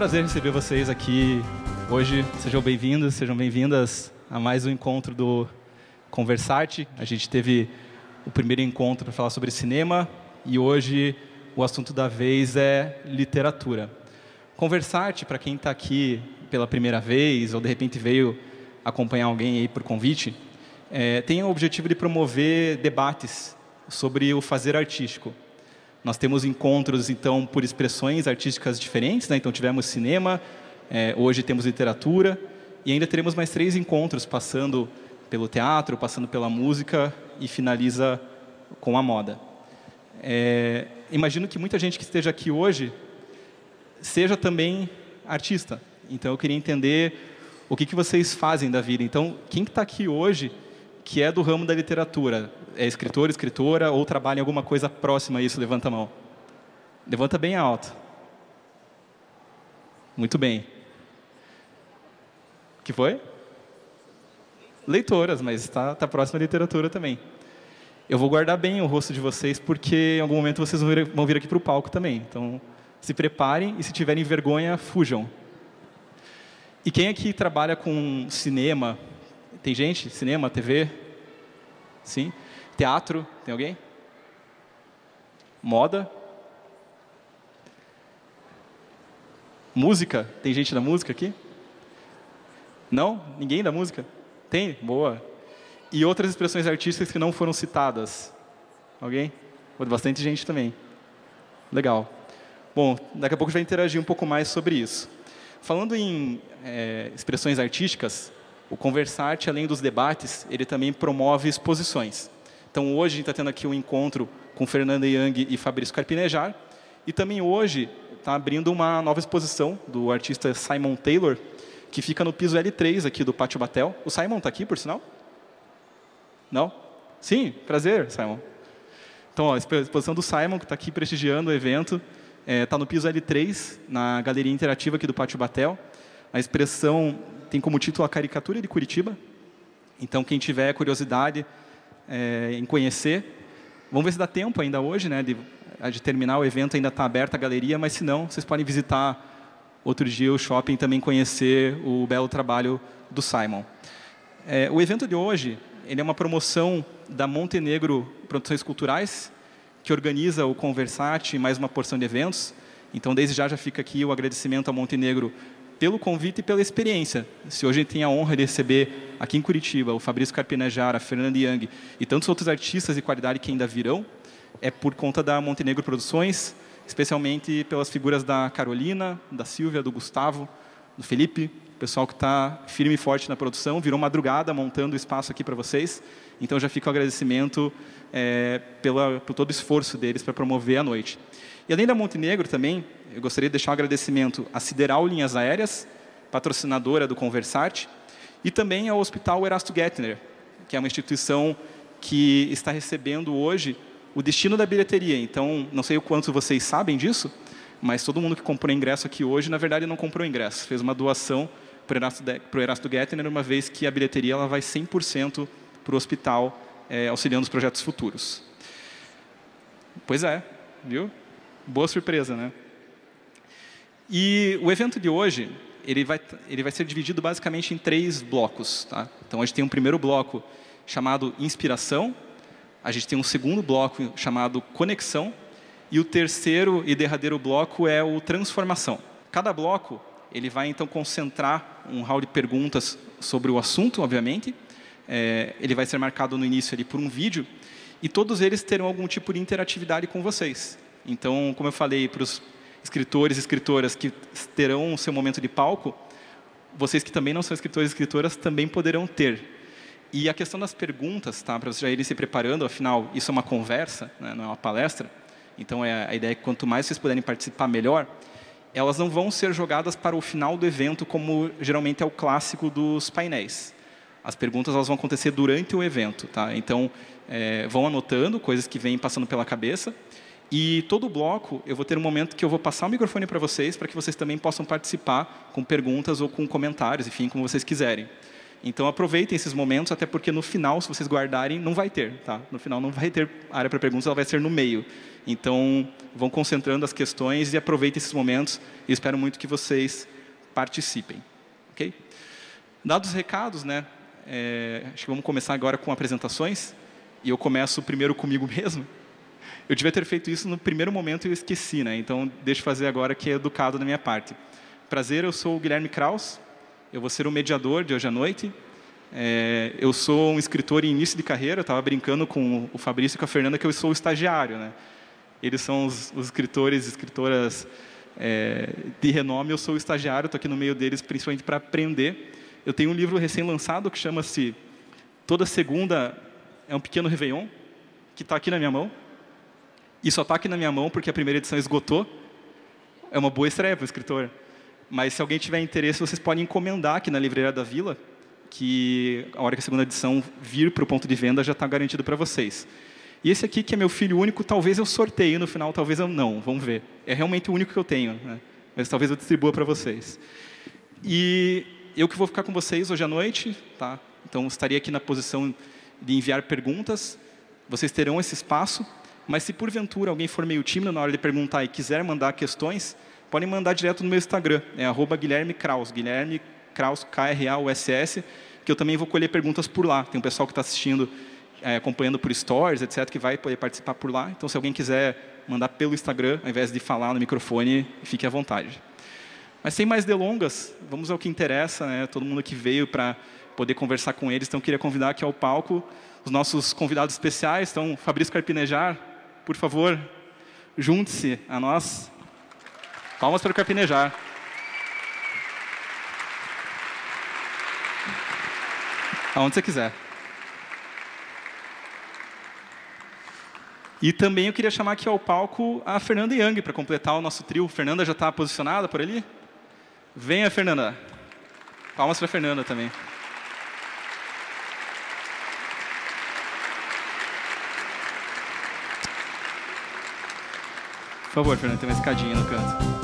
prazer receber vocês aqui hoje. Sejam bem-vindos, sejam bem-vindas a mais um encontro do Conversarte. A gente teve o primeiro encontro para falar sobre cinema e hoje o assunto da vez é literatura. Conversarte, para quem está aqui pela primeira vez ou de repente veio acompanhar alguém aí por convite, tem o objetivo de promover debates sobre o fazer artístico. Nós temos encontros, então, por expressões artísticas diferentes, né? Então, tivemos cinema, hoje temos literatura, e ainda teremos mais 3 encontros, passando pelo teatro, passando pela música, e finaliza com a moda. Imagino que muita gente que esteja aqui hoje seja também artista. Então, eu queria entender o que vocês fazem da vida. Então, quem está aqui hoje, que é do ramo da literatura, é escritor, escritora, ou trabalha em alguma coisa próxima a isso? Levanta a mão. Levanta bem alto. Muito bem. O que foi? Leitoras, mas está próxima à literatura também. Eu vou guardar bem o rosto de vocês, porque em algum momento vocês vão vir aqui para o palco também. Então, se preparem e, se tiverem vergonha, fujam. E quem aqui trabalha com cinema? Tem gente? Cinema, TV? Sim? Teatro? Tem alguém? Moda? Música? Tem gente da música aqui? Não? Ninguém da música? Tem? Boa. E outras expressões artísticas que não foram citadas? Alguém? Bastante gente também. Legal. Bom, daqui a pouco a gente vai interagir um pouco mais sobre isso. Falando em expressões artísticas, o Conversarte, além dos debates, ele também promove exposições. Então, hoje a gente está tendo aqui um encontro com Fernanda Young e Fabrício Carpinejar, e também hoje está abrindo uma nova exposição do artista Simon Taylor, que fica no piso L3 aqui do Pátio Batel. O Simon está aqui, por sinal? Não? Sim, prazer, Simon. Então, ó, a exposição do Simon, que está aqui prestigiando o evento, está no piso L3, na galeria interativa aqui do Pátio Batel. A expressão tem como título A Caricatura de Curitiba. Então, quem tiver curiosidade em conhecer, vamos ver se dá tempo ainda hoje, né, de terminar o evento, ainda está aberta a galeria, mas se não, vocês podem visitar outro dia o shopping e também conhecer o belo trabalho do Simon. O evento de hoje ele é uma promoção da Montenegro Produções Culturais, que organiza o Conversarte e mais uma porção de eventos. Então, desde já fica aqui o agradecimento a Montenegro pelo convite e pela experiência. Se hoje a gente tem a honra de receber aqui em Curitiba o Fabrício Carpinejar, a Fernanda Young e tantos outros artistas de qualidade que ainda virão, é por conta da Montenegro Produções, especialmente pelas figuras da Carolina, da Silvia, do Gustavo, do Felipe, o pessoal que está firme e forte na produção, virou madrugada montando o espaço aqui para vocês. Então, já fica o agradecimento por todo o esforço deles para promover a noite. E além da Montenegro também, eu gostaria de deixar um agradecimento à Sideral Linhas Aéreas, patrocinadora do Conversarte, e também ao Hospital Erasto Gettner, que é uma instituição que está recebendo hoje o destino da bilheteria. Então, não sei o quanto vocês sabem disso, mas todo mundo que comprou ingresso aqui hoje, na verdade, não comprou ingresso. Fez uma doação para o Erasto Gettner, uma vez que a bilheteria ela vai 100% para o hospital, auxiliando os projetos futuros. Pois é, viu? Boa surpresa, né? E o evento de hoje, ele vai ser dividido basicamente em 3 blocos. Tá? Então, a gente tem um primeiro bloco chamado Inspiração, a gente tem um segundo bloco chamado Conexão, e o terceiro e derradeiro bloco é o Transformação. Cada bloco ele vai, então, concentrar um hall de perguntas sobre o assunto, obviamente. Ele vai ser marcado no início ali por um vídeo, e todos eles terão algum tipo de interatividade com vocês. Então, como eu falei para os escritores e escritoras que terão o seu momento de palco, vocês que também não são escritores e escritoras também poderão ter. E a questão das perguntas, tá, para vocês já irem se preparando, afinal, isso é uma conversa, né, não é uma palestra, então a ideia é que quanto mais vocês puderem participar, melhor. Elas não vão ser jogadas para o final do evento, como geralmente é o clássico dos painéis. As perguntas elas vão acontecer durante o evento. Tá? Então, vão anotando coisas que vêm passando pela cabeça. E todo bloco, eu vou ter um momento que eu vou passar o microfone para vocês que vocês também possam participar com perguntas ou com comentários, enfim, como vocês quiserem. Então, aproveitem esses momentos, até porque no final, se vocês guardarem, não vai ter. Tá? No final, não vai ter área para perguntas, ela vai ser no meio. Então, vão concentrando as questões e aproveitem esses momentos. E espero muito que vocês participem. Okay? Dados os recados, né? Acho que vamos começar agora com apresentações. E eu começo primeiro comigo mesmo. Eu devia ter feito isso no primeiro momento e eu esqueci, né? Então, deixa eu fazer agora, que é educado da minha parte. Prazer, eu sou o Guilherme Kraus. Eu vou ser o mediador de hoje à noite. Eu sou um escritor em início de carreira. Eu estava brincando com o Fabrício e com a Fernanda que eu sou o estagiário, né? Eles são os escritores e escritoras de renome. Eu sou o estagiário, estou aqui no meio deles principalmente para aprender. Eu tenho um livro recém-lançado que chama-se Toda Segunda é um Pequeno Réveillon, que está aqui na minha mão. E só está aqui na minha mão porque a primeira edição esgotou. É uma boa estreia para o escritor. Mas, se alguém tiver interesse, vocês podem encomendar aqui na Livraria da Vila, que a hora que a segunda edição vir para o ponto de venda já está garantido para vocês. E esse aqui, que é meu filho único, talvez eu sorteie no final, talvez eu não. Vamos ver. É realmente o único que eu tenho, né? Mas talvez eu distribua para vocês. E eu que vou ficar com vocês hoje à noite, tá? Então, estaria aqui na posição de enviar perguntas. Vocês terão esse espaço. Mas, se porventura alguém for meio tímido na hora de perguntar e quiser mandar questões, podem mandar direto no meu Instagram, @Guilherme Kraus, Guilherme Kraus, K-R-A-U-S-S, que eu também vou colher perguntas por lá. Tem um pessoal que está assistindo, acompanhando por stories, etc., que vai poder participar por lá. Então, se alguém quiser mandar pelo Instagram, ao invés de falar no microfone, fique à vontade. Mas, sem mais delongas, vamos ao que interessa, né? Todo mundo que veio para poder conversar com eles. Então, eu queria convidar aqui ao palco os nossos convidados especiais. Então, Fabrício Carpinejar, por favor, junte-se a nós. Palmas para o Carpinejar. Aonde você quiser. E também eu queria chamar aqui ao palco a Fernanda Young para completar o nosso trio. Fernanda já está posicionada por ali? Venha, Fernanda. Palmas para a Fernanda também. Por favor, Fernanda, tem uma escadinha no canto.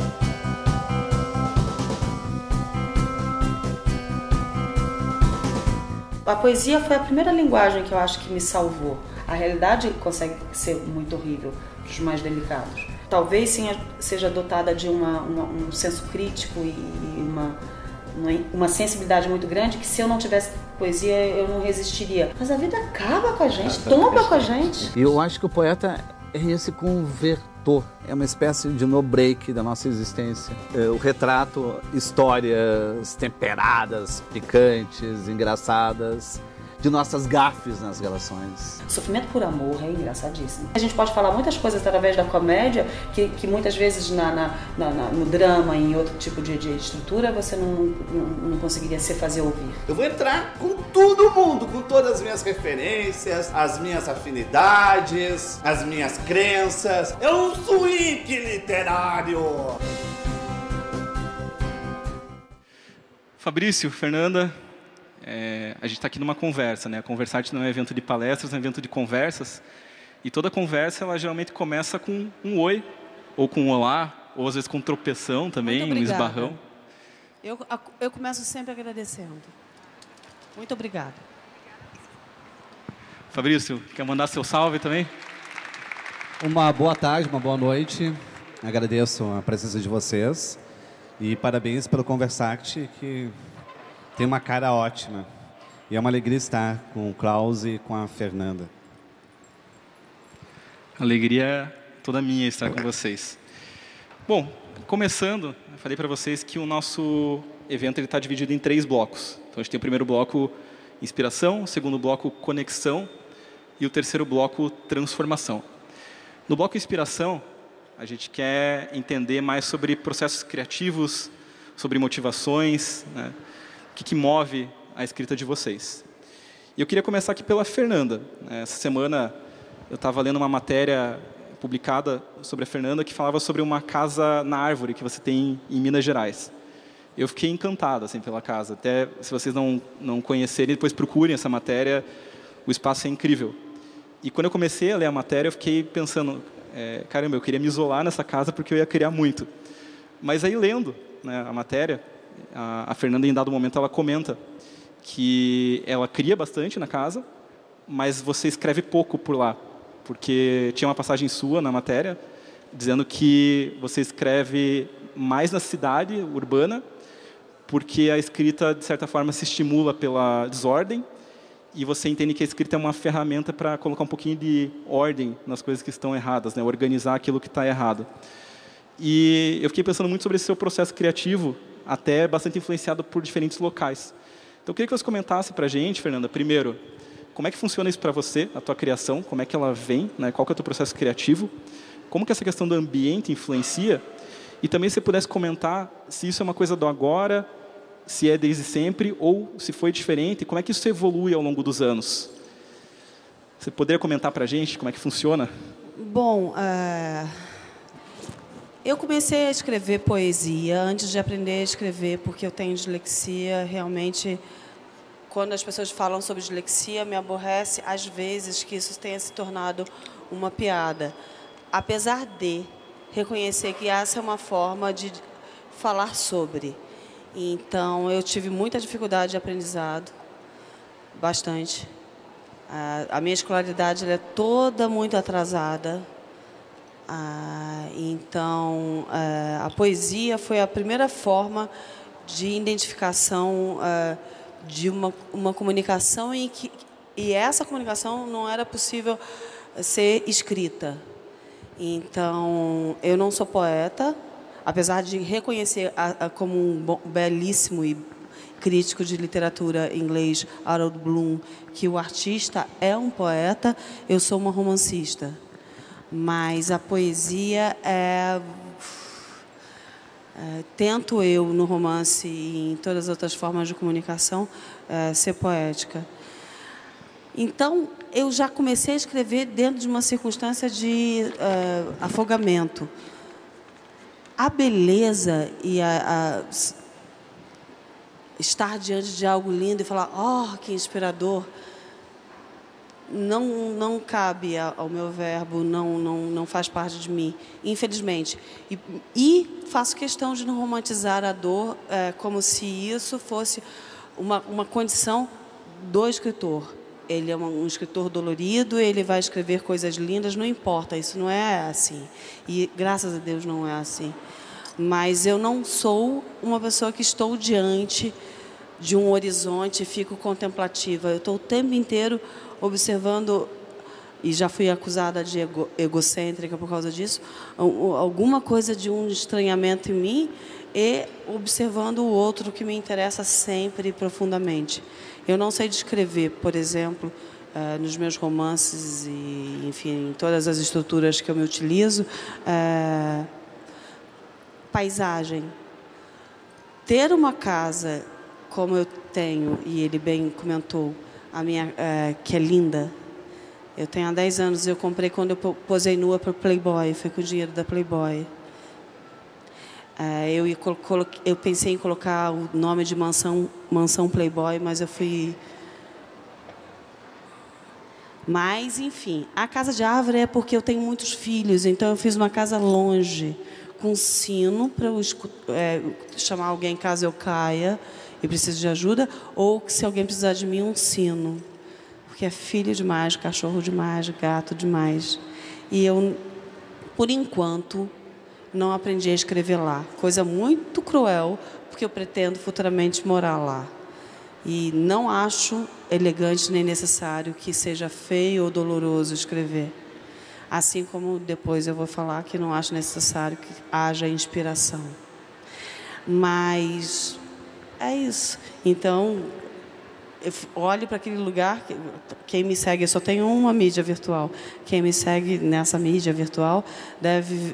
A poesia foi a primeira linguagem que eu acho que me salvou. A realidade consegue ser muito horrível para os mais delicados. Talvez seja dotada de um senso crítico e uma sensibilidade muito grande, que se eu não tivesse poesia eu não resistiria. Mas a vida acaba com a gente, tomba com a gente. E eu acho que o poeta é esse convertor, é uma espécie de no-break da nossa existência. O retrato, histórias temperadas, picantes, engraçadas, de nossas gafes nas relações. Sofrimento por amor é engraçadíssimo. A gente pode falar muitas coisas através da comédia que muitas vezes no drama, em outro tipo de estrutura, você não conseguiria se fazer ouvir. Eu vou entrar com todo mundo, com todas as minhas referências, as minhas afinidades, as minhas crenças. É um swing literário! Fabrício, Fernanda, a gente está aqui numa conversa, né? A Conversarte não é um evento de palestras, é um evento de conversas. E toda conversa, ela geralmente começa com um oi, ou com um olá, ou às vezes com um tropeção também, um esbarrão. Eu começo sempre agradecendo. Muito obrigada. Fabrício, quer mandar seu salve também? Uma boa tarde, uma boa noite. Agradeço a presença de vocês. E parabéns pelo Conversarte, que tem uma cara ótima. E é uma alegria estar com o Kraus e com a Fernanda. Alegria toda minha estar com vocês. Bom, começando, eu falei para vocês que o nosso evento está dividido em 3 blocos. Então, a gente tem o primeiro bloco, inspiração, o segundo bloco, conexão, e o terceiro bloco, transformação. No bloco inspiração, a gente quer entender mais sobre processos criativos, sobre motivações, né? O que move a escrita de vocês. E eu queria começar aqui pela Fernanda. Essa semana eu estava lendo uma matéria publicada sobre a Fernanda que falava sobre uma casa na árvore que você tem em Minas Gerais. Eu fiquei encantado assim, pela casa. Até se vocês não conhecerem, depois procurem essa matéria. O espaço é incrível. E quando eu comecei a ler a matéria, eu fiquei pensando, caramba, eu queria me isolar nessa casa porque eu ia criar muito. Mas aí, lendo, né, a matéria, a Fernanda, em dado momento, ela comenta que ela cria bastante na casa, mas você escreve pouco por lá, porque tinha uma passagem sua na matéria dizendo que você escreve mais na cidade urbana, porque a escrita, de certa forma, se estimula pela desordem, e você entende que a escrita é uma ferramenta para colocar um pouquinho de ordem nas coisas que estão erradas, né? Organizar aquilo que está errado. E eu fiquei pensando muito sobre esse seu processo criativo, até bastante influenciado por diferentes locais. Então, eu queria que você comentasse para a gente, Fernanda, primeiro, como é que funciona isso para você, a tua criação, como é que ela vem, né? Qual que é o teu processo criativo, como que essa questão do ambiente influencia, e também se você pudesse comentar se isso é uma coisa do agora, se é desde sempre, ou se foi diferente, como é que isso evolui ao longo dos anos. Você poderia comentar para a gente como é que funciona? Bom, eu comecei a escrever poesia antes de aprender a escrever, porque eu tenho dislexia. Realmente, quando as pessoas falam sobre dislexia, me aborrece, às vezes, que isso tenha se tornado uma piada. Apesar de reconhecer que essa é uma forma de falar sobre. Então, eu tive muita dificuldade de aprendizado, bastante. A minha escolaridade ela é toda muito atrasada. Então, a poesia foi a primeira forma de identificação de uma comunicação e essa comunicação não era possível ser escrita. Então, eu não sou poeta, apesar de reconhecer como um belíssimo e crítico de literatura inglês, Harold Bloom, que o artista é um poeta, eu sou uma romancista. Mas a poesia tento eu, no romance e em todas as outras formas de comunicação, ser poética. Então, eu já comecei a escrever dentro de uma circunstância de afogamento. A beleza e estar diante de algo lindo e falar, oh, que inspirador, não cabe ao meu verbo, não faz parte de mim, infelizmente. E faço questão de não romantizar a dor como se isso fosse uma condição do escritor. Ele é um escritor dolorido, ele vai escrever coisas lindas, não importa, isso não é assim. E, graças a Deus, não é assim. Mas eu não sou uma pessoa que estou diante de um horizonte e fico contemplativa. Eu estou o tempo inteiro observando, e já fui acusada de egocêntrica por causa disso, alguma coisa de um estranhamento em mim e observando o outro que me interessa sempre profundamente. Eu não sei descrever, por exemplo, nos meus romances e, enfim, em todas as estruturas que eu me utilizo, paisagem. Ter uma casa como eu tenho, e ele bem comentou, a minha, que é linda. Eu tenho há 10 anos, eu comprei quando eu posei nua para o Playboy, foi com o dinheiro da Playboy. Eu pensei em colocar o nome de mansão Playboy, mas eu fui... Mas, enfim, a casa de árvore é porque eu tenho muitos filhos, então eu fiz uma casa longe, com sino para eu chamar alguém caso eu caia e preciso de ajuda, ou se alguém precisar de mim, um sino. Porque é filho demais, cachorro demais, gato demais. E eu, por enquanto, não aprendi a escrever lá. Coisa muito cruel, porque eu pretendo futuramente morar lá. E não acho elegante nem necessário que seja feio ou doloroso escrever. Assim como depois eu vou falar que não acho necessário que haja inspiração. Mas é isso. Então, eu olho para aquele lugar, quem me segue, eu só tenho uma mídia virtual. Quem me segue nessa mídia virtual deve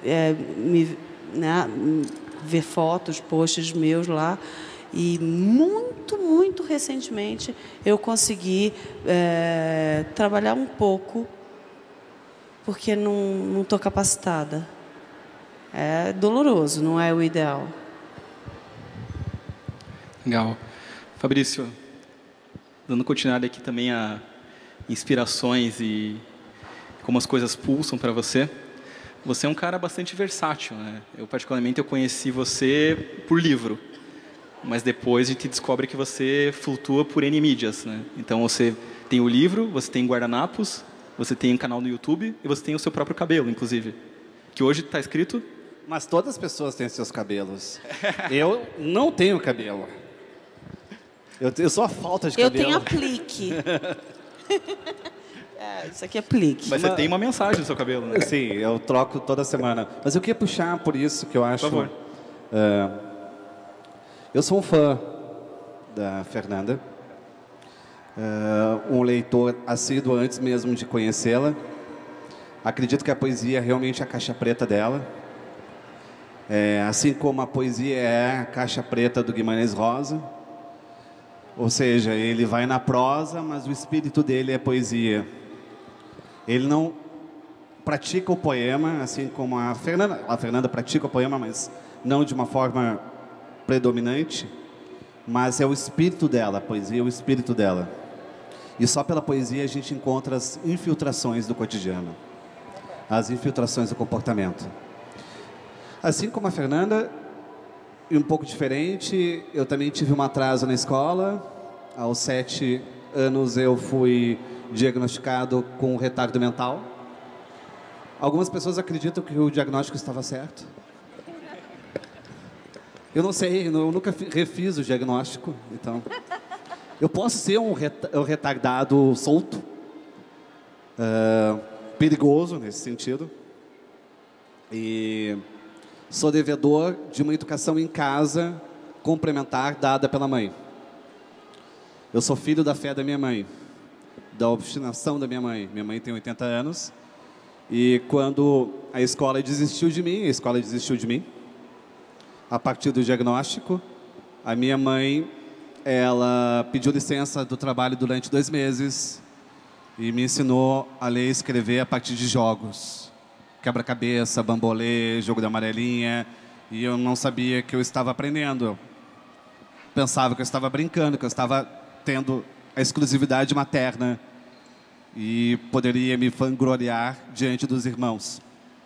ver fotos, posts meus lá. E muito, muito recentemente eu consegui trabalhar um pouco, porque não estou capacitada. É doloroso, não é o ideal. Legal. Fabrício, dando continuidade aqui também a inspirações e como as coisas pulsam para você. Você é um cara bastante versátil, né? Eu, particularmente, conheci você por livro. mas depois a gente descobre que você flutua por N mídias, né? Então você tem o livro, você tem guardanapos, você tem um canal no YouTube e você tem o seu próprio cabelo, inclusive. Que hoje está escrito... Mas todas as pessoas têm seus cabelos. Eu não tenho cabelo. Eu sou a falta de cabelo. Eu tenho aplique. Isso aqui é aplique. Mas você tem uma mensagem no seu cabelo, né? Sim, eu troco toda semana. Mas eu queria puxar por isso que eu acho... Por favor. Eu sou um fã da Fernanda. Um leitor assíduo antes mesmo de conhecê-la. Acredito que a poesia é realmente a caixa preta dela. Assim como a poesia é a caixa preta do Guimarães Rosa. Ou seja, ele vai na prosa, mas o espírito dele é poesia. Ele não pratica o poema, assim como a Fernanda. A Fernanda pratica o poema, mas não de uma forma predominante. Mas é o espírito dela, a poesia é o espírito dela. E só pela poesia a gente encontra as infiltrações do cotidiano. As infiltrações do comportamento. Assim como a Fernanda, e um pouco diferente, eu também tive um atraso na escola. Aos 7 anos eu fui diagnosticado com retardo mental. Algumas pessoas acreditam que o diagnóstico estava certo. Eu não sei, eu nunca refiz o diagnóstico, então... Eu posso ser um retardado solto, perigoso nesse sentido. E sou devedor de uma educação em casa complementar dada pela mãe. Eu sou filho da fé da minha mãe, da obstinação da minha mãe. Minha mãe tem 80 anos. E quando a escola desistiu de mim, a partir do diagnóstico, a minha mãe, ela pediu licença do trabalho durante 2 meses e me ensinou a ler e escrever a partir de jogos. Quebra-cabeça, bambolê, jogo da amarelinha. E eu não sabia que eu estava aprendendo. Eu pensava que eu estava brincando, que eu estava tendo a exclusividade materna e poderia me vangloriar diante dos irmãos.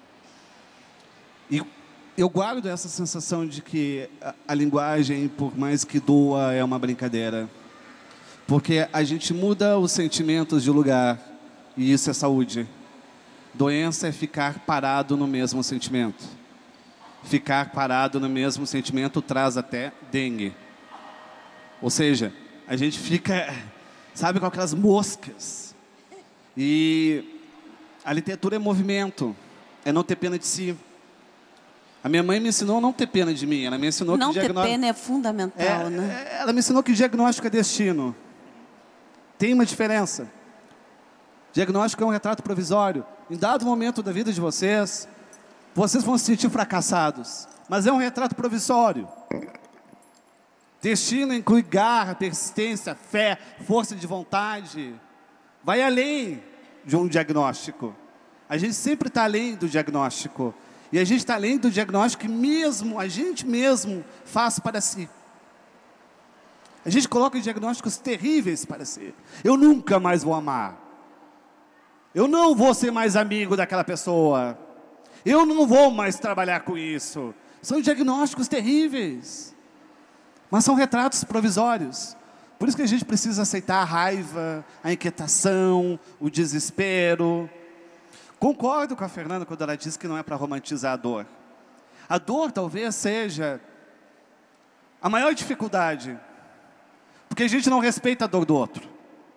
E eu guardo essa sensação de que a linguagem, por mais que doa, é uma brincadeira. Porque a gente muda os sentimentos de lugar e isso é saúde. Doença é ficar parado no mesmo sentimento. Ficar parado no mesmo sentimento traz até dengue. Ou seja, a gente fica, sabe, com aquelas moscas. E a literatura é movimento, é não ter pena de si. A minha mãe me ensinou a não ter pena de mim. Ela me ensinou não que ter pena é fundamental, né? Ela me ensinou que diagnóstico é destino. Tem uma diferença. Diagnóstico é um retrato provisório. Em dado momento da vida de vocês vão se sentir fracassados. Mas é um retrato provisório. Destino inclui garra, persistência, fé, força de vontade. Vai além de um diagnóstico. A gente sempre está além do diagnóstico. E a gente está além do diagnóstico que mesmo, a gente mesmo faz para si. A gente coloca diagnósticos terríveis para si. Eu nunca mais vou amar. Eu não vou ser mais amigo daquela pessoa. Eu não vou mais trabalhar com isso. São diagnósticos terríveis. Mas são retratos provisórios. Por isso que a gente precisa aceitar a raiva, a inquietação, o desespero. Concordo com a Fernanda quando ela diz que não é para romantizar a dor. A dor talvez seja a maior dificuldade. Porque a gente não respeita a dor do outro.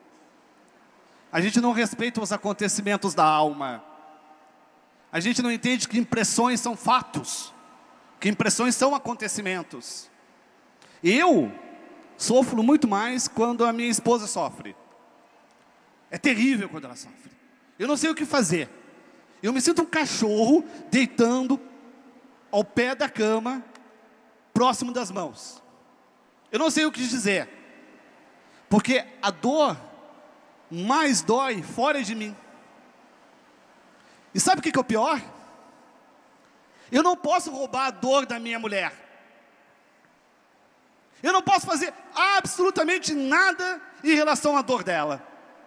A gente não respeita os acontecimentos da alma. A gente não entende que impressões são fatos. Que impressões são acontecimentos. Eu sofro muito mais quando a minha esposa sofre. É terrível quando ela sofre. Eu não sei o que fazer. Eu me sinto um cachorro deitando ao pé da cama, próximo das mãos. Eu não sei o que dizer. Porque a dor mais dói fora de mim. E sabe o que é o pior? Eu não posso roubar a dor da minha mulher. Eu não posso fazer absolutamente nada em relação à dor dela.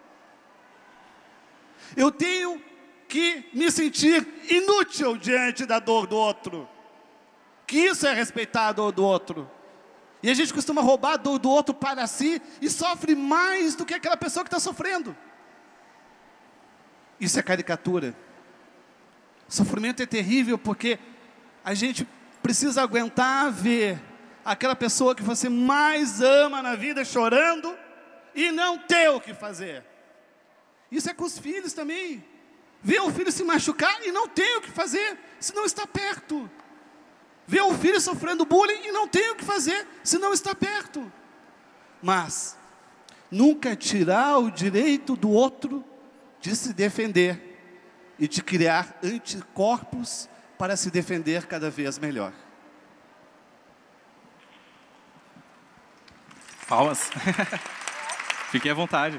Eu tenho que me sentir inútil diante da dor do outro. Que isso é respeitar a dor do outro. E a gente costuma roubar do outro para si e sofre mais do que aquela pessoa que está sofrendo. Isso é caricatura. Sofrimento é terrível porque a gente precisa aguentar ver aquela pessoa que você mais ama na vida chorando e não ter o que fazer. Isso é com os filhos também. Ver o filho se machucar e não ter o que fazer, se não está perto. Ver o filho sofrendo bullying e não ter o que fazer, se não está perto. Mas nunca tirar o direito do outro de se defender e de criar anticorpos para se defender cada vez melhor. Palmas. Fiquem à vontade.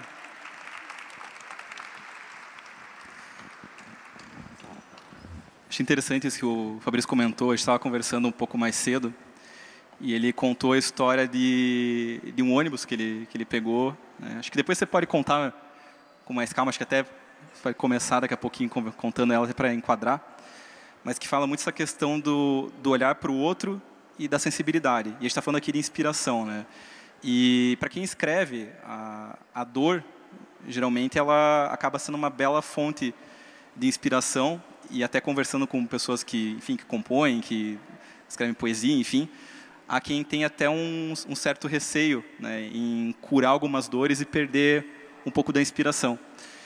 Achei interessante isso que o Fabrício comentou. A gente estava conversando um pouco mais cedo e ele contou a história de um ônibus que ele pegou, né? Acho que depois você pode contar com mais calma, acho que até vai começar daqui a pouquinho contando ela para enquadrar, mas que fala muito essa questão do olhar para o outro e da sensibilidade. E a gente está falando aqui de inspiração, né? E para quem escreve, a dor, geralmente, ela acaba sendo uma bela fonte de inspiração. E até conversando com pessoas que, enfim, que compõem, que escrevem poesia, enfim, há quem tem até um certo receio, né, em curar algumas dores e perder um pouco da inspiração.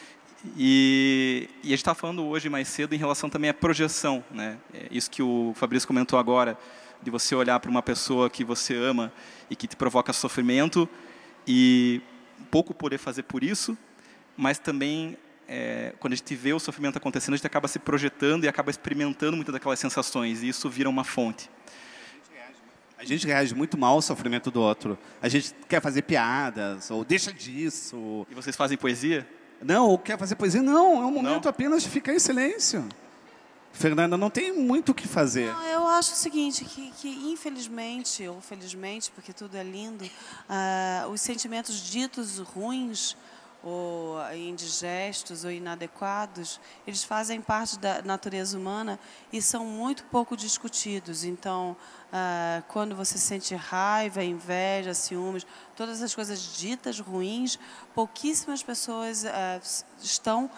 E a gente está falando hoje mais cedo em relação também à projeção, né? Isso que o Fabrício comentou agora, de você olhar para uma pessoa que você ama e que te provoca sofrimento e pouco poder fazer por isso, mas também quando a gente vê o sofrimento acontecendo, a gente acaba se projetando e acaba experimentando muitas daquelas sensações, e isso vira uma fonte. A gente reage muito mal ao sofrimento do outro. A gente quer fazer piadas, ou deixa disso. E vocês fazem poesia? Não, ou quer fazer poesia. Não, é um momento apenas de ficar em silêncio. Fernanda, não tem muito o que fazer. Não, eu acho o seguinte, que infelizmente, ou felizmente, porque tudo é lindo, os sentimentos ditos ruins, ou indigestos ou inadequados, eles fazem parte da natureza humana e são muito pouco discutidos. Então, quando você sente raiva, inveja, ciúmes, todas as coisas ditas ruins, pouquíssimas pessoas estão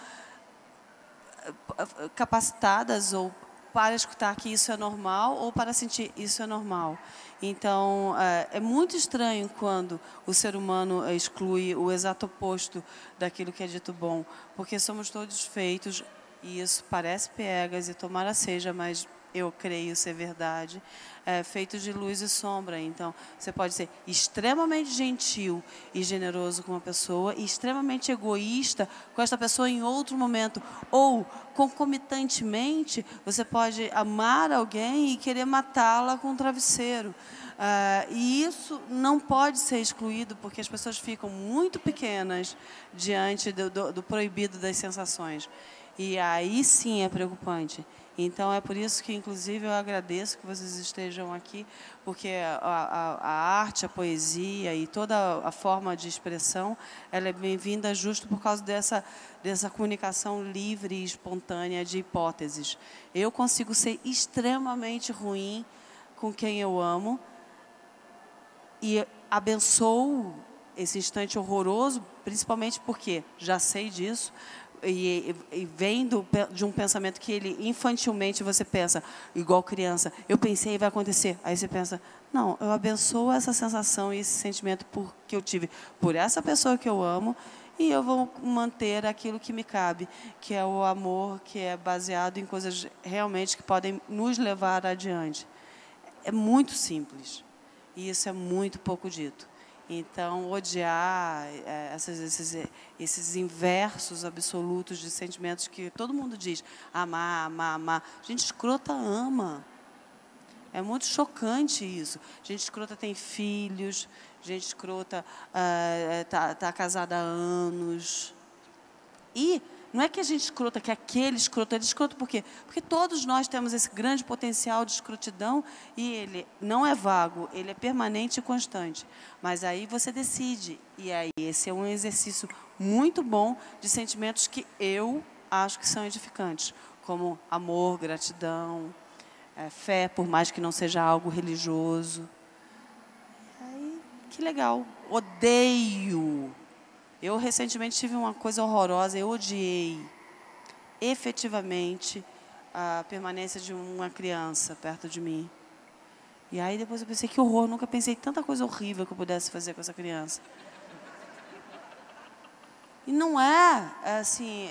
capacitadas ou para escutar que isso é normal ou para sentir isso é normal. Então, é muito estranho quando o ser humano exclui o exato oposto daquilo que é dito bom, porque somos todos feitos, e isso parece piegas, e tomara seja, mas eu creio ser verdade, feitos de luz e sombra. Então, você pode ser extremamente gentil e generoso com uma pessoa e extremamente egoísta com esta pessoa em outro momento. Ou, concomitantemente, você pode amar alguém e querer matá-la com um travesseiro. E isso não pode ser excluído, porque as pessoas ficam muito pequenas diante do proibido das sensações. E aí sim é preocupante. Então, é por isso que, inclusive, eu agradeço que vocês estejam aqui, porque a arte, a poesia e toda a forma de expressão, ela é bem-vinda justo por causa dessa comunicação livre e espontânea de hipóteses. Eu consigo ser extremamente ruim com quem eu amo e abençoo esse instante horroroso, principalmente porque já sei disso, e vem de um pensamento que ele, infantilmente, você pensa, igual criança, eu pensei, vai acontecer. Aí você pensa, não, eu abençoo essa sensação e esse sentimento que eu tive por essa pessoa que eu amo, e eu vou manter aquilo que me cabe, que é o amor, que é baseado em coisas realmente que podem nos levar adiante. É muito simples, e isso é muito pouco dito. Então, odiar esses inversos absolutos de sentimentos que todo mundo diz, amar, amar, amar. Gente escrota ama. É muito chocante isso. Gente escrota tem filhos, gente escrota tá casada há anos. E não é que a gente escrota, que aquele escroto, ele escroto por quê? Porque todos nós temos esse grande potencial de escrotidão e ele não é vago, ele é permanente e constante. Mas aí você decide, e aí esse é um exercício muito bom de sentimentos que eu acho que são edificantes, como amor, gratidão, fé, por mais que não seja algo religioso. que legal. Odeio. Eu recentemente tive uma coisa horrorosa, eu odiei efetivamente a permanência de uma criança perto de mim. E aí depois eu pensei, que horror, nunca pensei tanta coisa horrível que eu pudesse fazer com essa criança. E não é assim,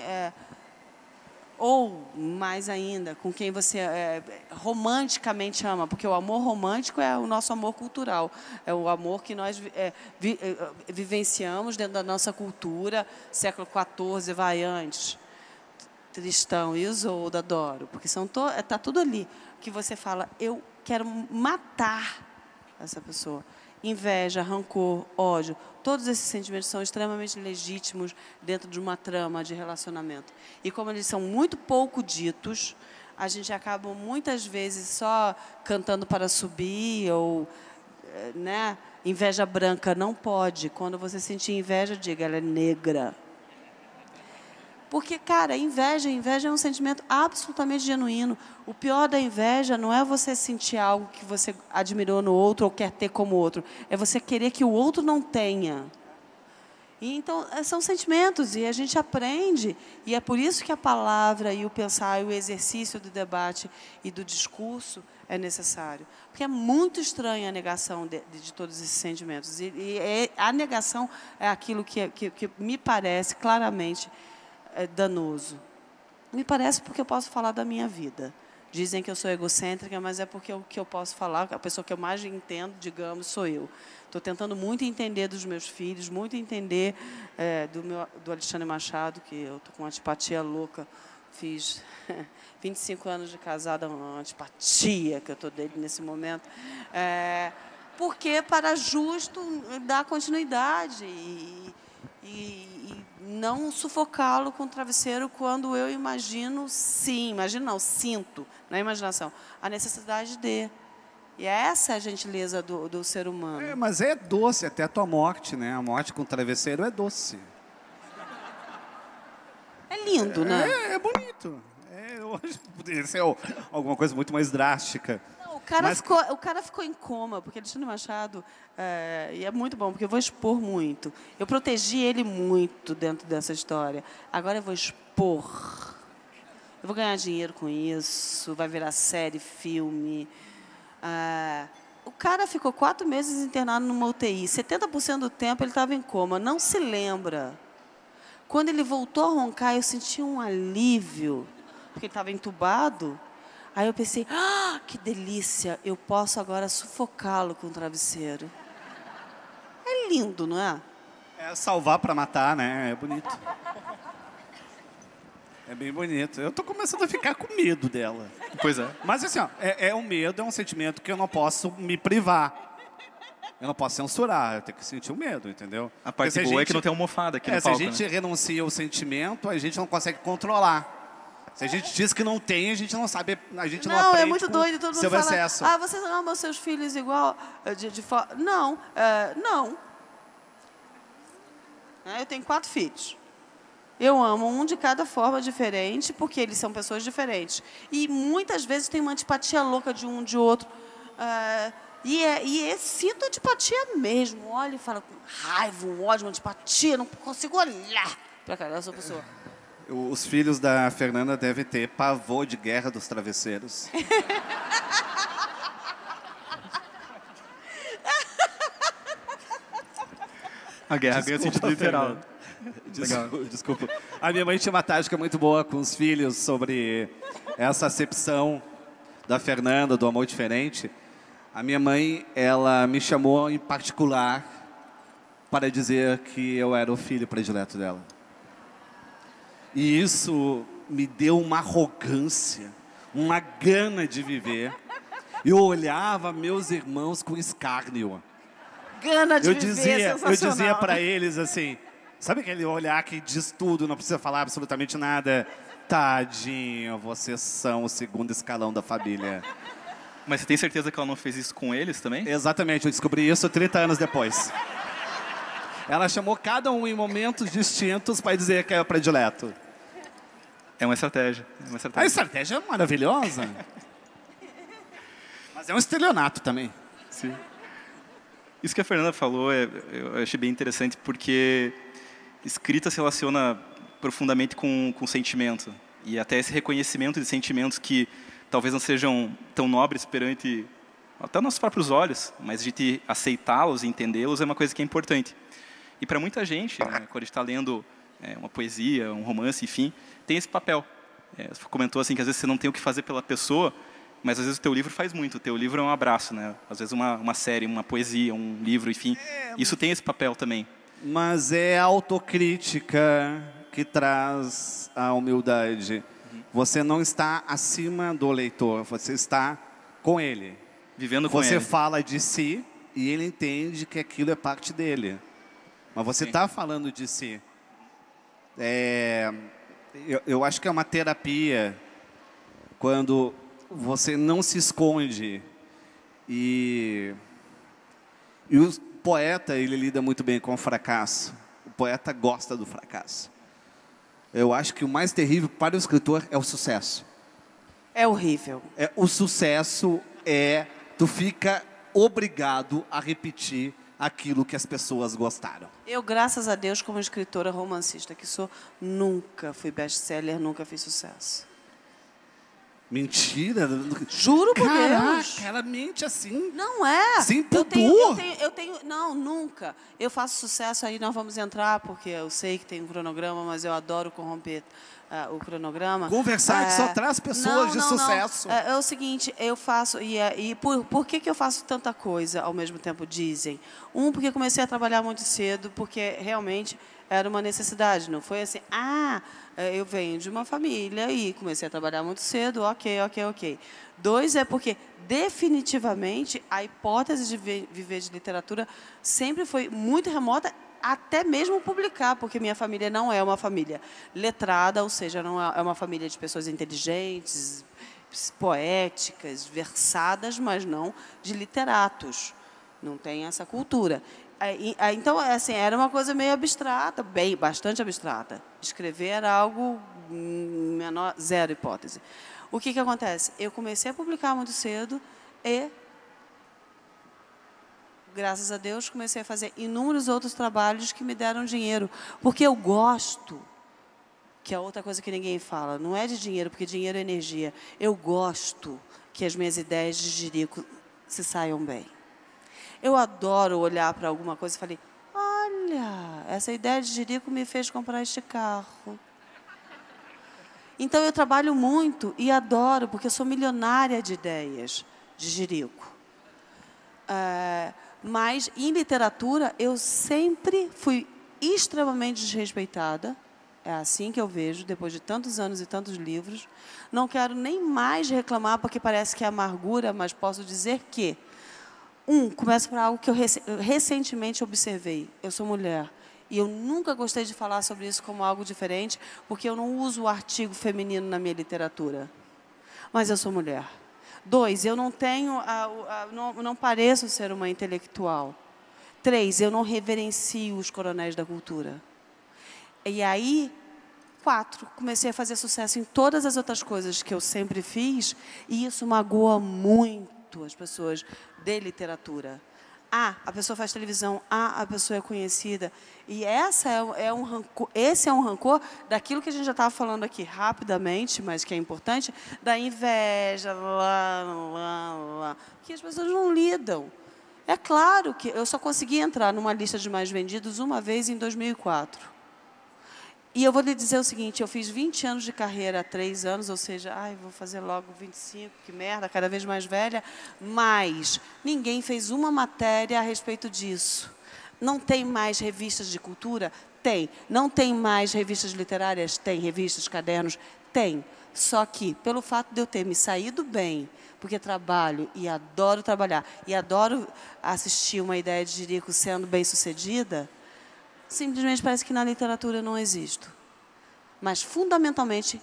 ou mais ainda, com quem você romanticamente ama, porque o amor romântico é o nosso amor cultural, é o amor que nós vivenciamos dentro da nossa cultura, século XIV, vai antes. Tristão, Isolda, adoro, porque tá tudo ali, que você fala, eu quero matar essa pessoa. Inveja, rancor, ódio, todos esses sentimentos são extremamente legítimos dentro de uma trama de relacionamento. E como eles são muito pouco ditos, a gente acaba muitas vezes só cantando para subir ou, né? Inveja branca não pode. Quando você sentir inveja, diga, ela é negra. Porque, cara, inveja é um sentimento absolutamente genuíno. O pior da inveja não é você sentir algo que você admirou no outro ou quer ter como outro. É você querer que o outro não tenha. E, então, são sentimentos e a gente aprende. E é por isso que a palavra e o pensar e o exercício do debate e do discurso é necessário. Porque é muito estranha a negação de todos esses sentimentos. E a negação é aquilo que me parece claramente danoso. Me parece porque eu posso falar da minha vida. Dizem que eu sou egocêntrica, mas é porque o que eu posso falar, a pessoa que eu mais entendo, digamos, sou eu. Estou tentando muito entender dos meus filhos, muito entender do Alexandre Machado, que eu estou com uma antipatia louca. Fiz 25 anos de casada, uma antipatia que eu estou dele nesse momento. Porque para justo dar continuidade e não sufocá-lo com o travesseiro quando eu sinto, na imaginação, a necessidade de. E essa é a gentileza do ser humano. Mas é doce até a tua morte, né? A morte com o travesseiro é doce. É lindo, né? É bonito. Eu acho que poderia ser alguma coisa muito mais drástica. Não, o cara ficou em coma, porque Alexandre Machado, e é muito bom, porque eu vou expor muito. Eu protegi ele muito dentro dessa história. Agora eu vou expor. Eu vou ganhar dinheiro com isso, vai virar série, filme. O cara ficou 4 meses internado numa UTI. 70% do tempo ele estava em coma, não se lembra. Quando ele voltou a roncar, eu senti um alívio, porque ele estava entubado. Aí eu pensei, que delícia, eu posso agora sufocá-lo com o travesseiro. É lindo, não é? É salvar para matar, né? É bonito. É bem bonito. Eu tô começando a ficar com medo dela. Pois é. Mas assim, ó, um medo, é um sentimento que eu não posso me privar. Eu não posso censurar, eu tenho que sentir o medo, entendeu? A parte boa é que não tem almofada aqui no palco. Se a gente renuncia ao sentimento, a gente não consegue controlar. Se a gente diz que não tem, a gente não sabe, a gente não aprende. Não, é muito doido, todo mundo fala, excesso. Você ama os seus filhos igual de fora? Não, não. Eu tenho 4 filhos. Eu amo um de cada forma diferente, porque eles são pessoas diferentes. E muitas vezes tem uma antipatia louca de um de outro. Sinto antipatia mesmo. Olha e fala com raiva, um ódio, uma antipatia. Não consigo olhar para cara dessa pessoa. Os filhos da Fernanda devem ter pavor de guerra dos travesseiros. A guerra ganha sentido literal. Desculpa. A minha mãe tinha uma tática muito boa com os filhos sobre essa acepção da Fernanda, do amor diferente. A minha mãe, ela me chamou em particular para dizer que eu era o filho predileto dela. E isso me deu uma arrogância, uma gana de viver. Eu olhava meus irmãos com escárnio. Gana de viver, eu dizia para eles assim, sabe aquele olhar que diz tudo, não precisa falar absolutamente nada? Tadinho, vocês são o segundo escalão da família. Mas você tem certeza que ela não fez isso com eles também? Exatamente, eu descobri isso 30 anos depois. Ela chamou cada um em momentos distintos para dizer que é o predileto. É uma estratégia. A estratégia é maravilhosa. Mas é um estelionato também. Sim. Isso que a Fernanda falou, eu achei bem interessante, porque escrita se relaciona profundamente com sentimento. E até esse reconhecimento de sentimentos que talvez não sejam tão nobres perante até nossos próprios olhos, mas a gente aceitá-los e entendê-los é uma coisa que é importante. E para muita gente, né, quando a gente está lendo uma poesia, um romance, enfim, tem esse papel. Você comentou assim que às vezes você não tem o que fazer pela pessoa, mas às vezes o teu livro faz muito. O teu livro é um abraço, né? Às vezes uma série, uma poesia, um livro, enfim. Isso tem esse papel também. Mas é a autocrítica que traz a humildade. Você não está acima do leitor, você está com ele. Vivendo com ele. Você fala de si e ele entende que aquilo é parte dele. Mas você está falando de si. Eu acho que é uma terapia quando você não se esconde. E o poeta, ele lida muito bem com o fracasso. O poeta gosta do fracasso. Eu acho que o mais terrível para o escritor é o sucesso. É horrível. O sucesso tu fica obrigado a repetir aquilo que as pessoas gostaram. Eu, graças a Deus, como escritora romancista que sou, nunca fui best-seller, nunca fiz sucesso. Mentira. Juro por Deus. Ela mente assim. Não é. Sem eu pudor. não, nunca. Eu faço sucesso, aí nós vamos entrar, porque eu sei que tem um cronograma, mas eu adoro corromper o cronograma. Conversar que só traz pessoas de sucesso. Não. É o seguinte, eu faço... por que eu faço tanta coisa ao mesmo tempo, dizem? Porque comecei a trabalhar muito cedo, porque realmente era uma necessidade. Não foi assim, eu venho de uma família e comecei a trabalhar muito cedo, ok. 2, é porque definitivamente a hipótese de viver de literatura sempre foi muito remota, até mesmo publicar, porque minha família não é uma família letrada, ou seja, não é uma família de pessoas inteligentes, poéticas, versadas, mas não de literatos. Não tem essa cultura. Então, assim, era uma coisa meio abstrata, bastante abstrata. Escrever era algo menor, zero hipótese. O que acontece? Eu comecei a publicar muito cedo e, graças a Deus, comecei a fazer inúmeros outros trabalhos que me deram dinheiro. Porque eu gosto, que é outra coisa que ninguém fala, não é de dinheiro, porque dinheiro é energia. Eu gosto que as minhas ideias de jirico se saiam bem. Eu adoro olhar para alguma coisa e falei, olha, essa ideia de jirico me fez comprar este carro. Então, eu trabalho muito e adoro, porque eu sou milionária de ideias de jirico. Mas, em literatura, eu sempre fui extremamente desrespeitada. É assim que eu vejo, depois de tantos anos e tantos livros. Não quero nem mais reclamar, porque parece que é amargura, mas posso dizer que... começo por algo que eu recentemente observei. Eu sou mulher. E eu nunca gostei de falar sobre isso como algo diferente, porque eu não uso o artigo feminino na minha literatura. Mas eu sou mulher. 2, eu não tenho, não pareço ser uma intelectual. 3, eu não reverencio os coronéis da cultura. E aí, 4, comecei a fazer sucesso em todas as outras coisas que eu sempre fiz, e isso magoa muito as pessoas de literatura. A pessoa faz televisão, a pessoa é conhecida. E esse é um rancor daquilo que a gente já estava falando aqui rapidamente, mas que é importante, da inveja, que as pessoas não lidam. É claro que eu só consegui entrar numa lista de mais vendidos uma vez em 2004. E eu vou lhe dizer o seguinte, eu fiz 20 anos de carreira há 3 anos, ou seja, vou fazer logo 25, que merda, cada vez mais velha, mas ninguém fez uma matéria a respeito disso. Não tem mais revistas de cultura? Tem. Não tem mais revistas literárias? Tem. Revistas, cadernos? Tem. Só que, pelo fato de eu ter me saído bem, porque trabalho e adoro trabalhar, e adoro assistir uma ideia de jirico sendo bem-sucedida, simplesmente parece que na literatura eu não existo. Mas, fundamentalmente,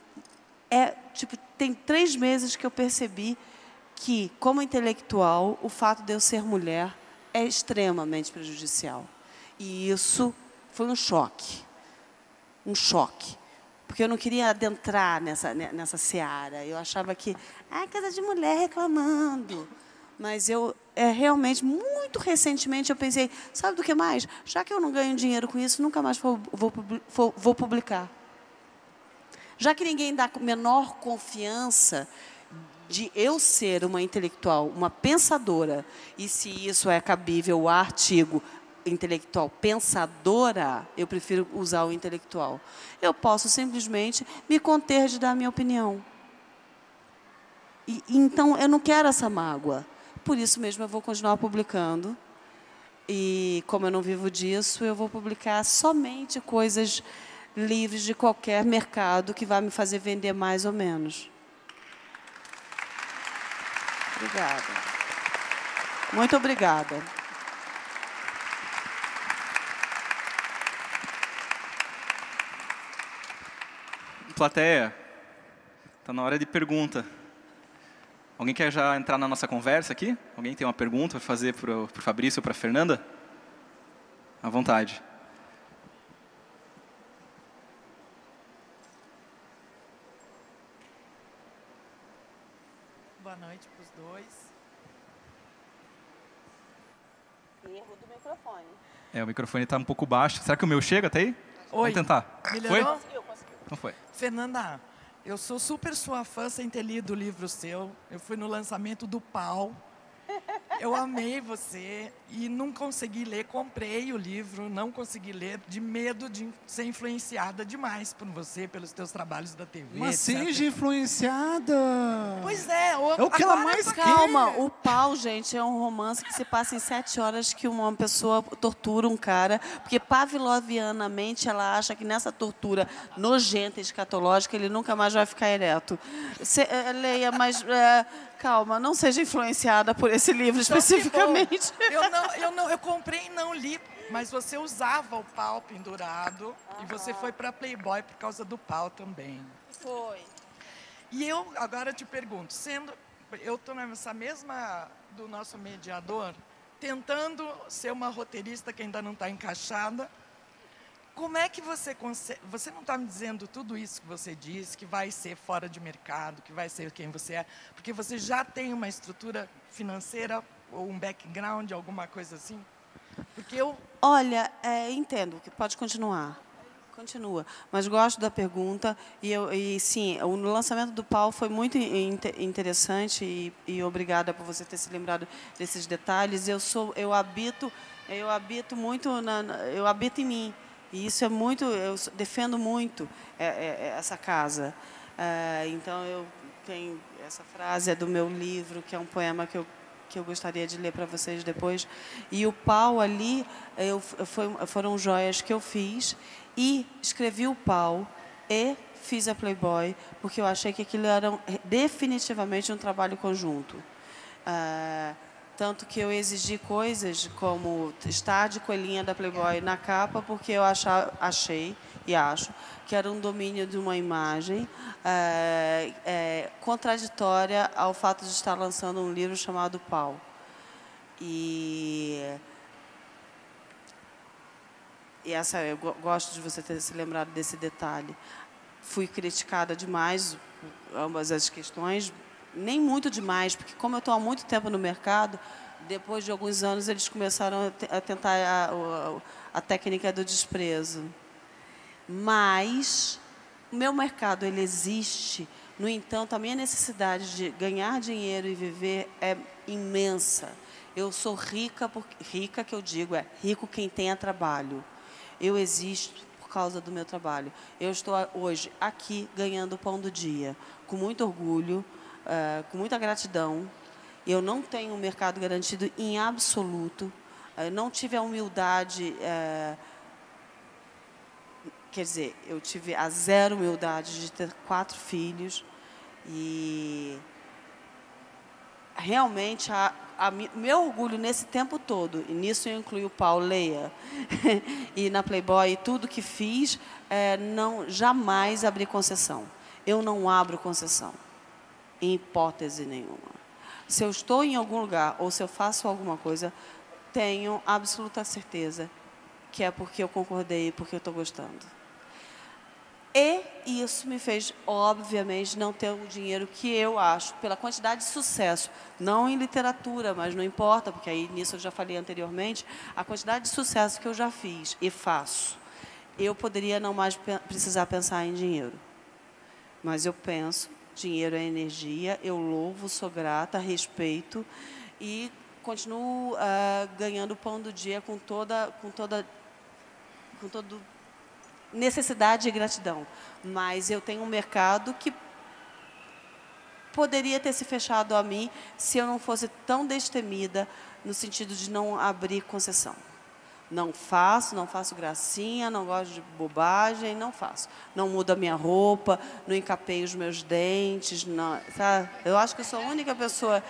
tem 3 meses que eu percebi que, como intelectual, o fato de eu ser mulher é extremamente prejudicial. E isso foi um choque. Um choque. Porque eu não queria adentrar nessa seara. Eu achava que, casa de mulher reclamando. Mas eu realmente, muito recentemente, eu pensei, sabe do que mais? Já que eu não ganho dinheiro com isso, nunca mais vou publicar. Já que ninguém dá menor confiança de eu ser uma intelectual, uma pensadora, e se isso é cabível o artigo intelectual pensadora, eu prefiro usar o intelectual. Eu posso simplesmente me conter de dar a minha opinião. Então, eu não quero essa mágoa. Por isso mesmo, eu vou continuar publicando. E, como eu não vivo disso, eu vou publicar somente coisas livres de qualquer mercado que vai me fazer vender mais ou menos. Obrigada. Muito obrigada. Plateia, está na hora de pergunta. Alguém quer já entrar na nossa conversa aqui? Alguém tem uma pergunta para fazer para o Fabrício ou para a Fernanda? À vontade. Boa noite para os dois. Erro do microfone. O microfone está um pouco baixo. Será que o meu chega até aí? Oi. Vamos tentar. Melhorou? Foi? Não foi. Fernanda, eu sou super sua fã sem ter lido o livro seu. Eu fui no lançamento do Pau. Eu amei você e não consegui ler. Comprei o livro, não consegui ler, de medo de ser influenciada demais por você, pelos teus trabalhos da TV. Mas etc. seja influenciada. Pois é. É o que ela mais quer. Calma, o Pau, gente, é um romance que se passa em 7 horas que uma pessoa tortura um cara, porque pavlovianamente ela acha que nessa tortura nojenta e escatológica ele nunca mais vai ficar ereto. Leia, mas calma, não seja influenciada por esse livro especificamente. Eu comprei e não li, mas você usava o pau pendurado e você foi para Playboy por causa do pau também. Foi. E eu agora te pergunto, eu estou nessa mesma do nosso mediador, tentando ser uma roteirista que ainda não está encaixada. Como é que você consegue... Você não está me dizendo tudo isso que você disse, que vai ser fora de mercado, que vai ser quem você é, porque você já tem uma estrutura financeira ou um background, alguma coisa assim? Porque eu... Olha, entendo, que pode continuar. Continua. Mas gosto da pergunta. E sim, o lançamento do Pau foi muito interessante e obrigada por você ter se lembrado desses detalhes. Eu habito muito, eu habito em mim. E isso é muito, eu defendo muito essa casa. Então, eu tenho essa frase, é do meu livro, que é um poema que eu gostaria de ler para vocês depois. E o Pau ali, foram joias que eu fiz e escrevi o Pau e fiz a Playboy, porque eu achei que aquilo era definitivamente um trabalho conjunto. Tanto que eu exigi coisas como estar de coelhinha da Playboy na capa, porque eu achei e acho que era um domínio de uma imagem contraditória ao fato de estar lançando um livro chamado Pau. Eu gosto de você ter se lembrado desse detalhe. Fui criticada demais, ambas as questões, nem muito demais, porque como eu estou há muito tempo no mercado, depois de alguns anos eles começaram a tentar a técnica do desprezo. Mas o meu mercado ele existe, no entanto, a minha necessidade de ganhar dinheiro e viver é imensa. Eu sou rica, rica que eu digo, rico quem tenha trabalho. Eu existo por causa do meu trabalho. Eu estou hoje aqui ganhando o pão do dia, com muito orgulho, com muita gratidão. Eu não tenho um mercado garantido em absoluto. Não tive a humildade, quer dizer, eu tive a zero humildade de ter 4 filhos. E realmente meu orgulho nesse tempo todo, e nisso eu incluo o Pau, Leia, e na Playboy, tudo que fiz, jamais abri concessão. Eu não abro concessão. Em hipótese nenhuma. Se eu estou em algum lugar ou se eu faço alguma coisa, tenho absoluta certeza que é porque eu concordei e porque eu estou gostando. E isso me fez, obviamente, não ter o dinheiro que eu acho, pela quantidade de sucesso, não em literatura, mas não importa, porque aí nisso eu já falei anteriormente, a quantidade de sucesso que eu já fiz e faço, eu poderia não mais precisar pensar em dinheiro. Mas eu penso, dinheiro é energia, eu louvo, sou grata, respeito e continuo ganhando o pão do dia com toda necessidade e gratidão. Mas eu tenho um mercado que poderia ter se fechado a mim se eu não fosse tão destemida no sentido de não abrir concessão. Não faço gracinha, não gosto de bobagem, não faço. Não mudo a minha roupa, não encapeio os meus dentes, não, sabe? Eu acho que eu sou a única pessoa...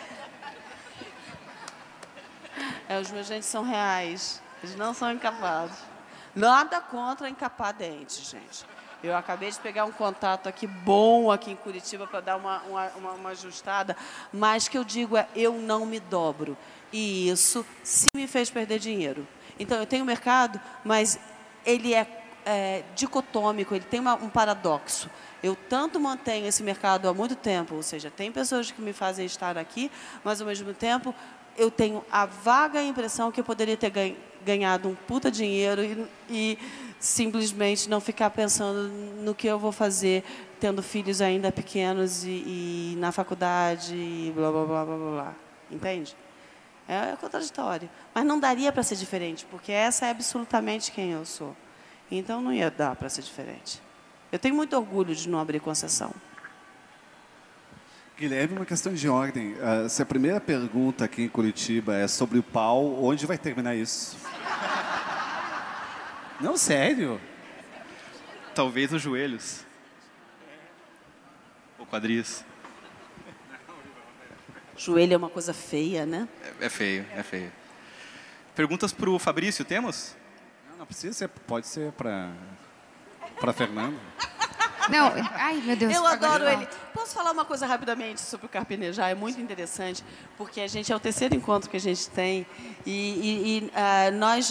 os meus dentes são reais, eles não são encapados. Nada contra encapar dentes, gente. Eu acabei de pegar um contato aqui bom aqui em Curitiba para dar uma ajustada, mas que eu digo eu não me dobro. E isso sim me fez perder dinheiro. Então, eu tenho mercado, mas ele é dicotômico, ele tem um paradoxo. Eu tanto mantenho esse mercado há muito tempo, ou seja, tem pessoas que me fazem estar aqui, mas, ao mesmo tempo, eu tenho a vaga impressão que eu poderia ter ganhado um puta dinheiro e simplesmente não ficar pensando no que eu vou fazer, tendo filhos ainda pequenos e na faculdade e blá, blá, blá, blá, blá. Entende? É contraditório. Mas não daria para ser diferente, porque essa é absolutamente quem eu sou. Então, não ia dar para ser diferente. Eu tenho muito orgulho de não abrir concessão. Guilherme, uma questão de ordem. Se a primeira pergunta aqui em Curitiba é sobre o pau, onde vai terminar isso? Não, sério? Talvez os joelhos. Ou quadris. Joelho é uma coisa feia, né? É feio, é feio. Perguntas para o Fabrício, temos? Não precisa ser, pode ser para Fernanda. Não, ai meu Deus. Eu adoro agora ele. Posso falar uma coisa rapidamente sobre o carpinejar? É muito interessante, porque a gente é o terceiro encontro que a gente tem e nós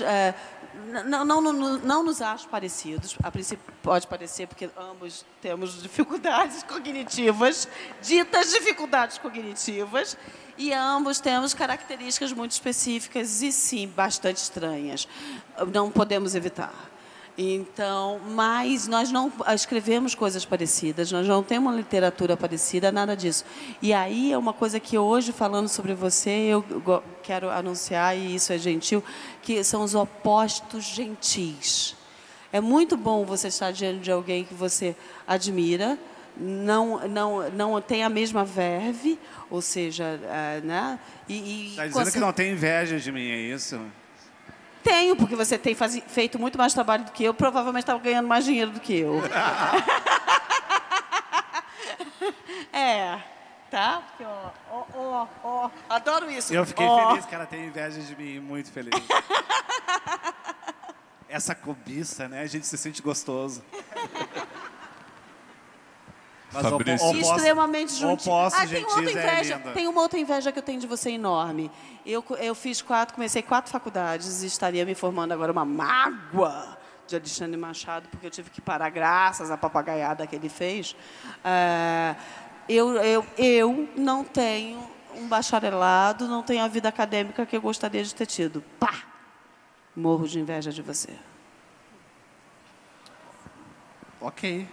não nos acho parecidos. A princípio pode parecer, porque ambos temos dificuldades cognitivas, ditas dificuldades cognitivas, e ambos temos características muito específicas e, sim, bastante estranhas. Não podemos evitar. Então, mas nós não escrevemos coisas parecidas, nós não temos uma literatura parecida, nada disso. E aí é uma coisa que hoje, falando sobre você, eu quero anunciar, e isso é gentil, que são os opostos gentis. É muito bom você estar diante de alguém que você admira, não tem a mesma verve, ou seja, né? Está dizendo que não tem inveja de mim, é isso? Tenho, porque você tem feito muito mais trabalho do que eu, provavelmente estava ganhando mais dinheiro do que eu. Tá? Porque, adoro isso. Eu fiquei feliz que ela tem inveja de mim, muito feliz. Essa cobiça, né? A gente se sente gostoso. Mas extremamente juntinho. Tem outra inveja. Tem uma outra inveja que eu tenho de você enorme. Eu comecei 4 faculdades e estaria me formando agora uma mágoa de Alexandre Machado, porque eu tive que parar graças à papagaiada que ele fez. Eu não tenho um bacharelado, não tenho a vida acadêmica que eu gostaria de ter tido. Pá! Morro de inveja de você. Ok.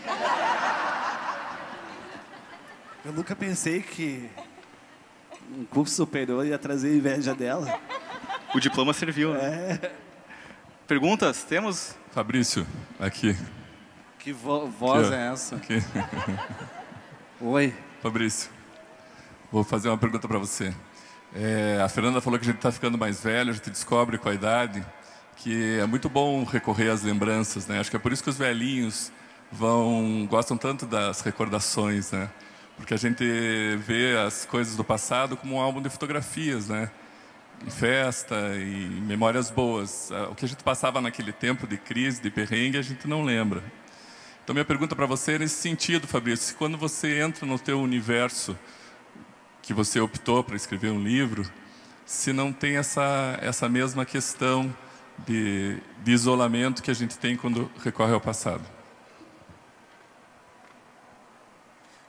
Eu nunca pensei que um curso superior ia trazer inveja dela. O diploma serviu, né? Perguntas? Temos? Fabrício, aqui. Que voz é essa? Aqui. Oi. Fabrício, vou fazer uma pergunta para você. A Fernanda falou que a gente está ficando mais velho, a gente descobre com a idade que é muito bom recorrer às lembranças, né? Acho que é por isso que os velhinhos gostam tanto das recordações, né? Porque a gente vê as coisas do passado como um álbum de fotografias, né? Em festa e memórias boas. O que a gente passava naquele tempo de crise, de perrengue, a gente não lembra. Então, minha pergunta para você é nesse sentido, Fabrício. Quando você entra no teu universo, que você optou para escrever um livro, se não tem essa mesma questão de isolamento que a gente tem quando recorre ao passado.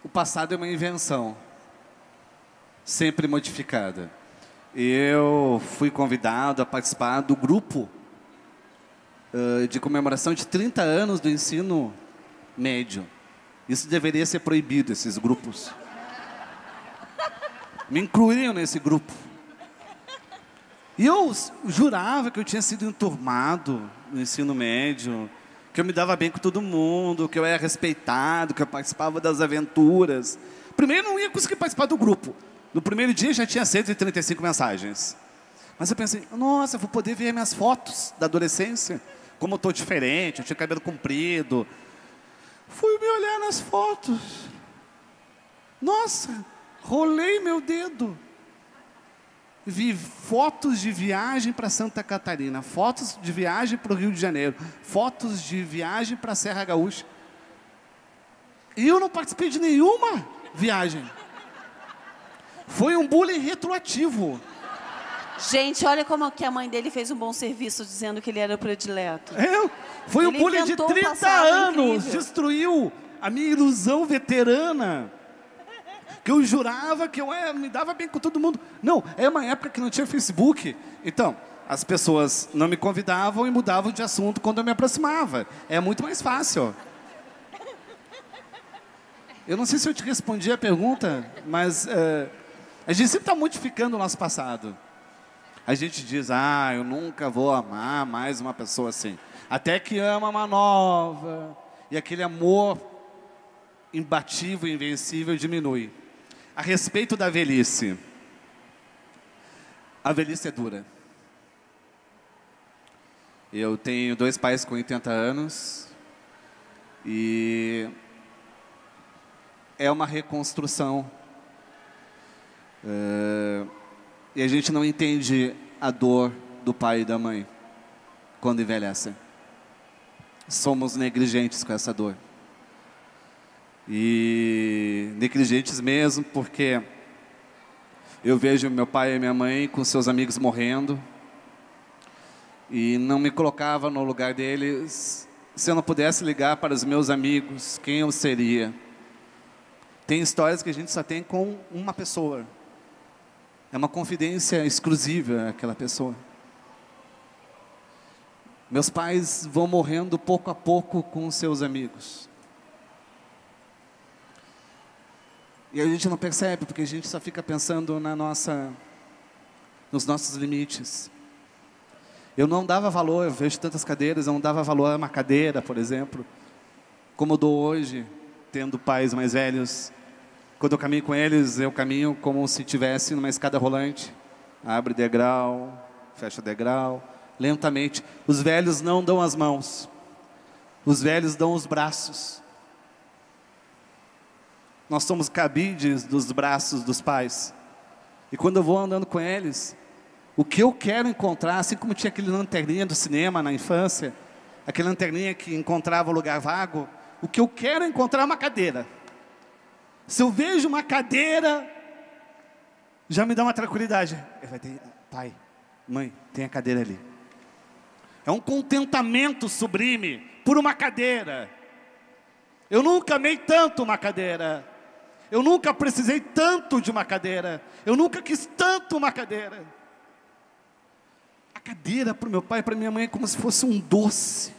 o passado é uma invenção, sempre modificada. Eu fui convidado a participar do grupo de comemoração de 30 anos do ensino médio. Isso deveria ser proibido, esses grupos. Me incluíram nesse grupo. E eu jurava que eu tinha sido enturmado no ensino médio, que eu me dava bem com todo mundo, que eu era respeitado, que eu participava das aventuras. Primeiro, eu não ia conseguir participar do grupo. No primeiro dia já tinha 135 mensagens. Mas eu pensei, nossa, eu vou poder ver minhas fotos da adolescência, como eu estou diferente, eu tinha cabelo comprido. Fui me olhar nas fotos. Nossa, rolei meu dedo. Vi fotos de viagem para Santa Catarina, fotos de viagem para o Rio de Janeiro, fotos de viagem para a Serra Gaúcha. E eu não participei de nenhuma viagem. Foi um bullying retroativo. Gente, olha como que a mãe dele fez um bom serviço dizendo que ele era o predileto. Foi um bullying de 30 anos. Destruiu a minha ilusão veterana. Que eu jurava que eu me dava bem com todo mundo. Não, é uma época que não tinha Facebook. Então, as pessoas não me convidavam e mudavam de assunto quando eu me aproximava. É muito mais fácil. Eu não sei se eu te respondi a pergunta, mas a gente sempre está modificando o nosso passado. A gente diz, eu nunca vou amar mais uma pessoa assim. Até que ama uma nova. E aquele amor imbatível, invencível diminui. A respeito da velhice. A velhice é dura. Eu tenho 2 pais com 80 anos. E é uma reconstrução. E a gente não entende a dor do pai e da mãe quando envelhecem. Somos negligentes com essa dor. E negligentes mesmo, porque eu vejo meu pai e minha mãe com seus amigos morrendo e não me colocava no lugar deles. Se eu não pudesse ligar para os meus amigos, quem eu seria? Tem histórias que a gente só tem com uma pessoa. É uma confidência exclusiva aquela pessoa. Meus pais vão morrendo pouco a pouco com os seus amigos. E a gente não percebe, porque a gente só fica pensando nos nossos limites. Eu não dava valor, eu vejo tantas cadeiras, eu não dava valor a uma cadeira, por exemplo, como eu dou hoje, tendo pais mais velhos. Quando eu caminho com eles, eu caminho como se estivesse numa escada rolante. Abre degrau, fecha degrau, lentamente. Os velhos não dão as mãos, os velhos dão os braços. Nós somos cabides dos braços dos pais. E quando eu vou andando com eles, o que eu quero encontrar, assim como tinha aquele lanterninha do cinema na infância, aquele lanterninha que encontrava o lugar vago, o que eu quero encontrar é uma cadeira. Se eu vejo uma cadeira, já me dá uma tranquilidade. Vai ter, pai, mãe, tem a cadeira ali. É um contentamento sublime por uma cadeira. Eu nunca amei tanto uma cadeira. Eu nunca precisei tanto de uma cadeira. Eu nunca quis tanto uma cadeira. A cadeira para o meu pai e para minha mãe é como se fosse um doce.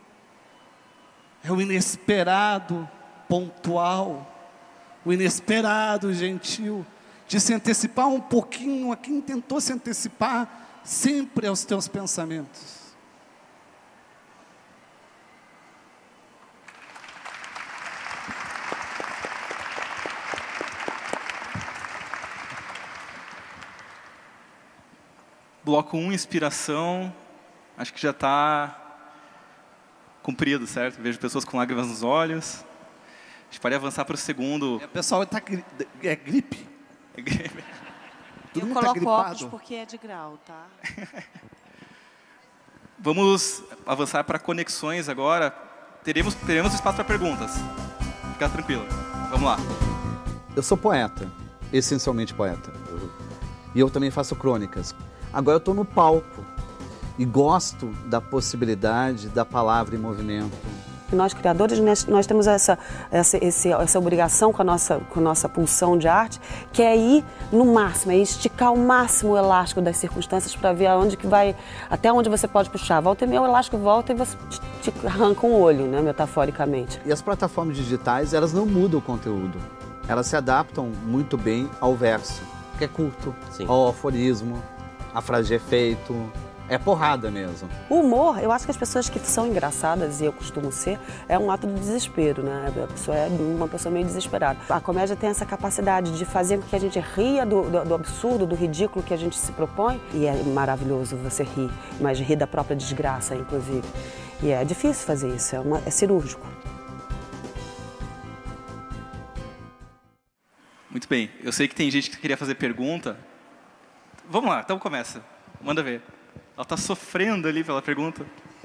É o inesperado, pontual. O inesperado, gentil. De se antecipar um pouquinho a quem tentou se antecipar sempre aos teus pensamentos. Bloco 1, inspiração, acho que já está cumprido, certo? Vejo pessoas com lágrimas nos olhos. A gente pode avançar para o segundo. O pessoal está é gripe. É gripe. Eu coloco óculos porque é de grau, tá? Vamos avançar para conexões agora. Teremos espaço para perguntas. Fica tranquilo. Vamos lá. Eu sou poeta, essencialmente poeta. E eu também faço crônicas. Agora eu estou no palco e gosto da possibilidade da palavra em movimento, Nós, criadores, nós temos essa obrigação com a nossa pulsão de arte, que é ir no máximo, é esticar ao máximo o elástico das circunstâncias para ver até onde você pode puxar. Volta e meia, o elástico volta e você te arranca um olho, né, metaforicamente. E as plataformas digitais, elas não mudam o conteúdo. Elas se adaptam muito bem ao verso, que é curto, ao aforismo, a frase de efeito. É porrada mesmo. O humor, eu acho que as pessoas que são engraçadas, e eu costumo ser, é um ato de desespero, né? A pessoa é uma pessoa meio desesperada. A comédia tem essa capacidade de fazer com que a gente ria do absurdo, do ridículo que a gente se propõe. E é maravilhoso você rir, mas rir da própria desgraça, inclusive. E é difícil fazer isso, é cirúrgico. Muito bem. Eu sei que tem gente que queria fazer pergunta. Vamos lá, então começa. Manda ver. Ela está sofrendo ali pela pergunta.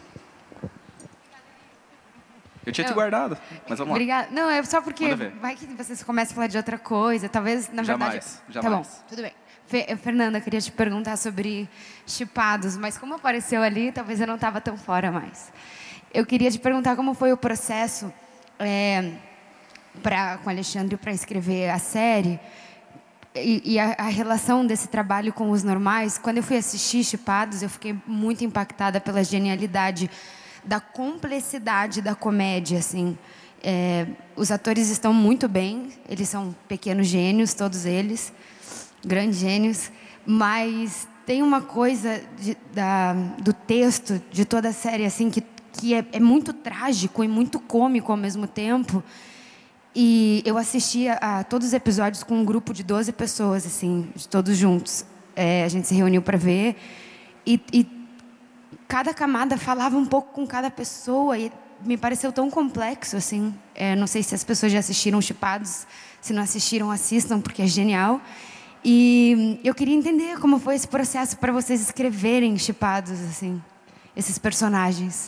Eu tinha te guardado, mas vamos lá. Obrigada. Não, é só porque vai que vocês começam a falar de outra coisa. Talvez, na verdade... Jamais. Tá bom, tudo bem. Fernanda, eu queria te perguntar sobre chipados, mas como apareceu ali, talvez eu não estava tão fora mais. Eu queria te perguntar como foi o processo com o Alexandre para escrever a série e a relação desse trabalho com os normais. Quando eu fui assistir Chipados, eu fiquei muito impactada pela genialidade, da complexidade da comédia, assim. Os atores estão muito bem, eles são pequenos gênios, todos eles, grandes gênios, mas tem uma coisa do texto de toda a série assim, que é muito trágico e muito cômico ao mesmo tempo. E eu assistia a todos os episódios com um grupo de 12 pessoas, assim, de todos juntos. A gente se reuniu para ver e cada camada falava um pouco com cada pessoa e me pareceu tão complexo, assim. Não sei se as pessoas já assistiram Chipados, se não assistiram, assistam, porque é genial. E eu queria entender como foi esse processo para vocês escreverem Chipados, assim, esses personagens.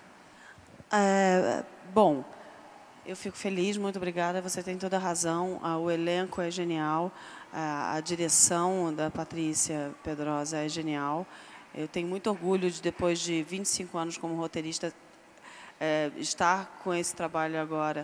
Bom, eu fico feliz, muito obrigada, você tem toda a razão, o elenco é genial, a direção da Patrícia Pedrosa é genial. Eu tenho muito orgulho de, depois de 25 anos como roteirista, estar com esse trabalho agora.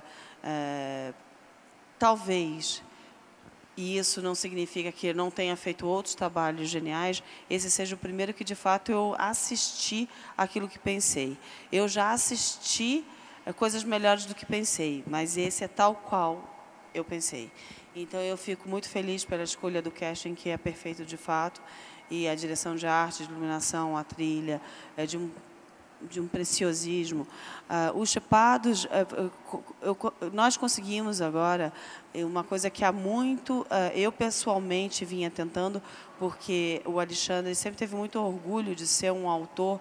Talvez, e isso não significa que eu não tenha feito outros trabalhos geniais, esse seja o primeiro que, de fato, eu assisti aquilo que pensei. Eu já assisti coisas melhores do que pensei, mas esse é tal qual eu pensei. Então, eu fico muito feliz pela escolha do casting, que é perfeito de fato, e a direção de arte, de iluminação, a trilha, de um preciosismo. Os Chipados, nós conseguimos agora uma coisa que há muito, eu pessoalmente vinha tentando, porque o Alexandre sempre teve muito orgulho de ser um autor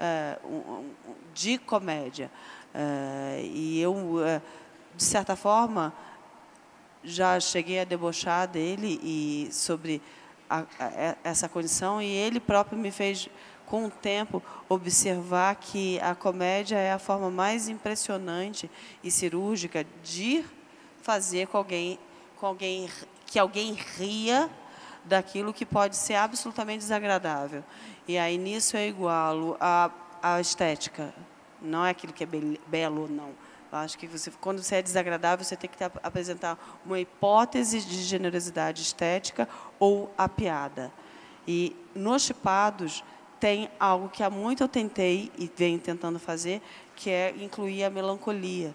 de comédia. E eu, de certa forma, já cheguei a debochar dele e sobre essa condição, e ele próprio me fez, com o tempo, observar que a comédia é a forma mais impressionante e cirúrgica de fazer que alguém ria daquilo que pode ser absolutamente desagradável. E aí, nisso, eu igualo a estética. Não é aquilo que é belo, não. Eu acho que quando você é desagradável, você tem que apresentar uma hipótese de generosidade estética ou a piada. E nos Chipados tem algo que há muito eu tentei e venho tentando fazer, que é incluir a melancolia.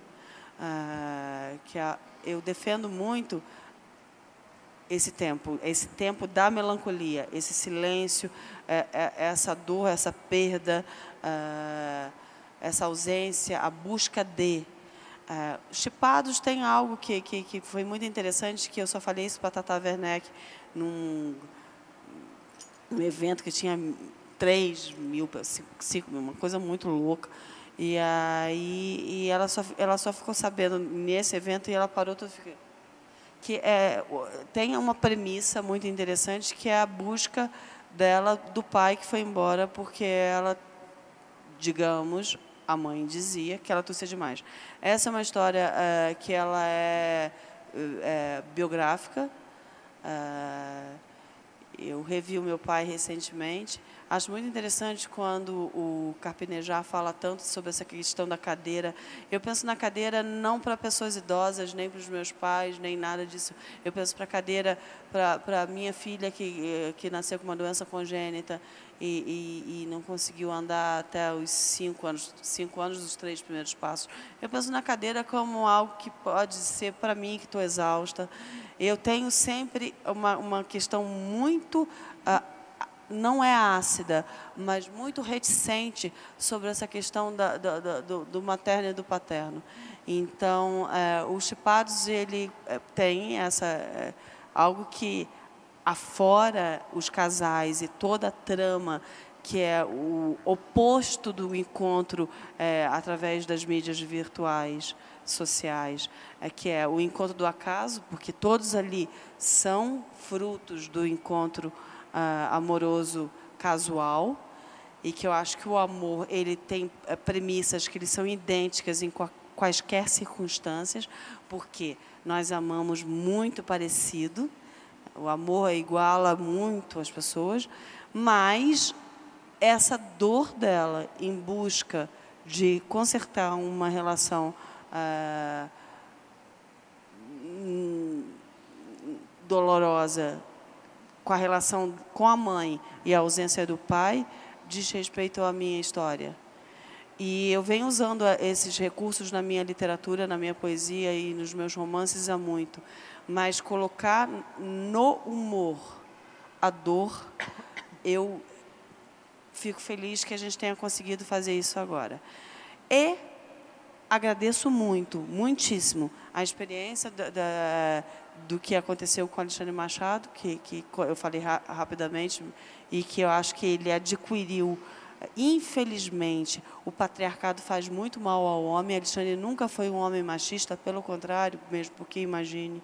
Eu defendo muito esse tempo da melancolia, esse silêncio, essa dor, essa perda, essa ausência, a busca de. Chipados tem algo que foi muito interessante, que eu só falei isso para a Tata Werneck num evento que tinha 3 mil, 5 mil, uma coisa muito louca. E aí ela só ficou sabendo nesse evento e ela parou tudo. Que tem uma premissa muito interessante, que é a busca dela do pai que foi embora porque ela, digamos, a mãe dizia que ela tossia demais. Essa é uma história que ela é biográfica. Eu revi o meu pai recentemente. Acho muito interessante quando o Carpinejar fala tanto sobre essa questão da cadeira. Eu penso na cadeira não para pessoas idosas, nem para os meus pais, nem nada disso. Eu penso para a cadeira para a minha filha que nasceu com uma doença congênita e não conseguiu andar até os 5 anos dos 3 primeiros passos. Eu penso na cadeira como algo que pode ser para mim, que estou exausta. Eu tenho sempre uma questão muito... não é ácida, mas muito reticente sobre essa questão do materno e do paterno. Então, os Chipados, ele tem algo que afora os casais e toda a trama, que é o oposto do encontro através das mídias virtuais, sociais, que é o encontro do acaso, porque todos ali são frutos do encontro amoroso casual, e que eu acho que o amor ele tem premissas que eles são idênticas em quaisquer circunstâncias, porque nós amamos muito parecido, o amor iguala muito as pessoas, mas essa dor dela em busca de consertar uma relação dolorosa com a relação com a mãe e a ausência do pai, diz respeito à minha história. E eu venho usando esses recursos na minha literatura, na minha poesia e nos meus romances há muito. Mas colocar no humor a dor, eu fico feliz que a gente tenha conseguido fazer isso agora. E agradeço muitíssimo a experiência do que aconteceu com Alexandre Machado, que eu falei rapidamente, e que eu acho que ele adquiriu. Infelizmente, o patriarcado faz muito mal ao homem. Alexandre nunca foi um homem machista, pelo contrário, mesmo porque imagine.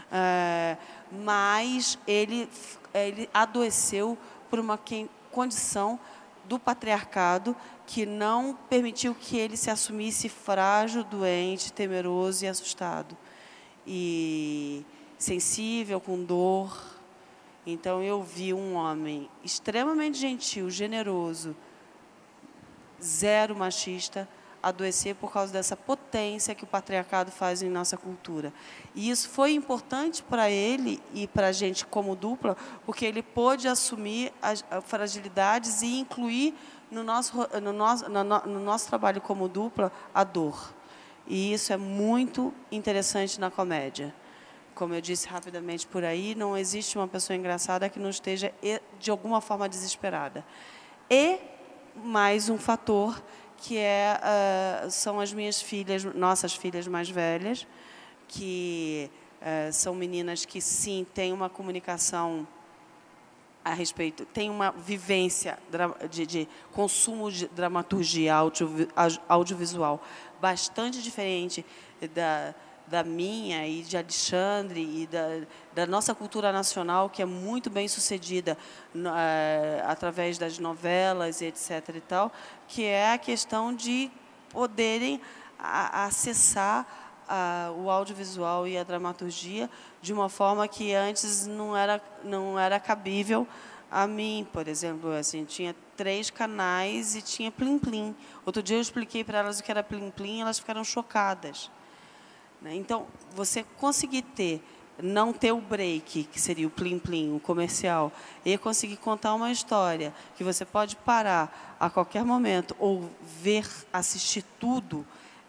Mas ele adoeceu por uma condição do patriarcado que não permitiu que ele se assumisse frágil, doente, temeroso e assustado. E sensível, com dor. Então, eu vi um homem extremamente gentil, generoso, zero machista, adoecer por causa dessa potência que o patriarcado faz em nossa cultura. E isso foi importante para ele e para a gente como dupla, porque ele pôde assumir as fragilidades e incluir no nosso trabalho como dupla a dor. E isso é muito interessante na comédia. Como eu disse rapidamente por aí, não existe uma pessoa engraçada que não esteja, de alguma forma, desesperada. E mais um fator, que são as minhas filhas, nossas filhas mais velhas, que são meninas que, sim, têm uma comunicação a respeito, têm uma vivência de consumo de dramaturgia audiovisual bastante diferente da minha e de Alexandre e da nossa cultura nacional, que é muito bem sucedida através das novelas, etc. e tal, que é a questão de poderem acessar o audiovisual e a dramaturgia de uma forma que antes não era cabível a mim. Por exemplo, assim, tinha 3 canais e tinha Plim Plim. Outro dia eu expliquei para elas o que era Plim Plim e elas ficaram chocadas. Então, você conseguir não ter o break, que seria o plim-plim, o comercial, e conseguir contar uma história que você pode parar a qualquer momento ou assistir tudo,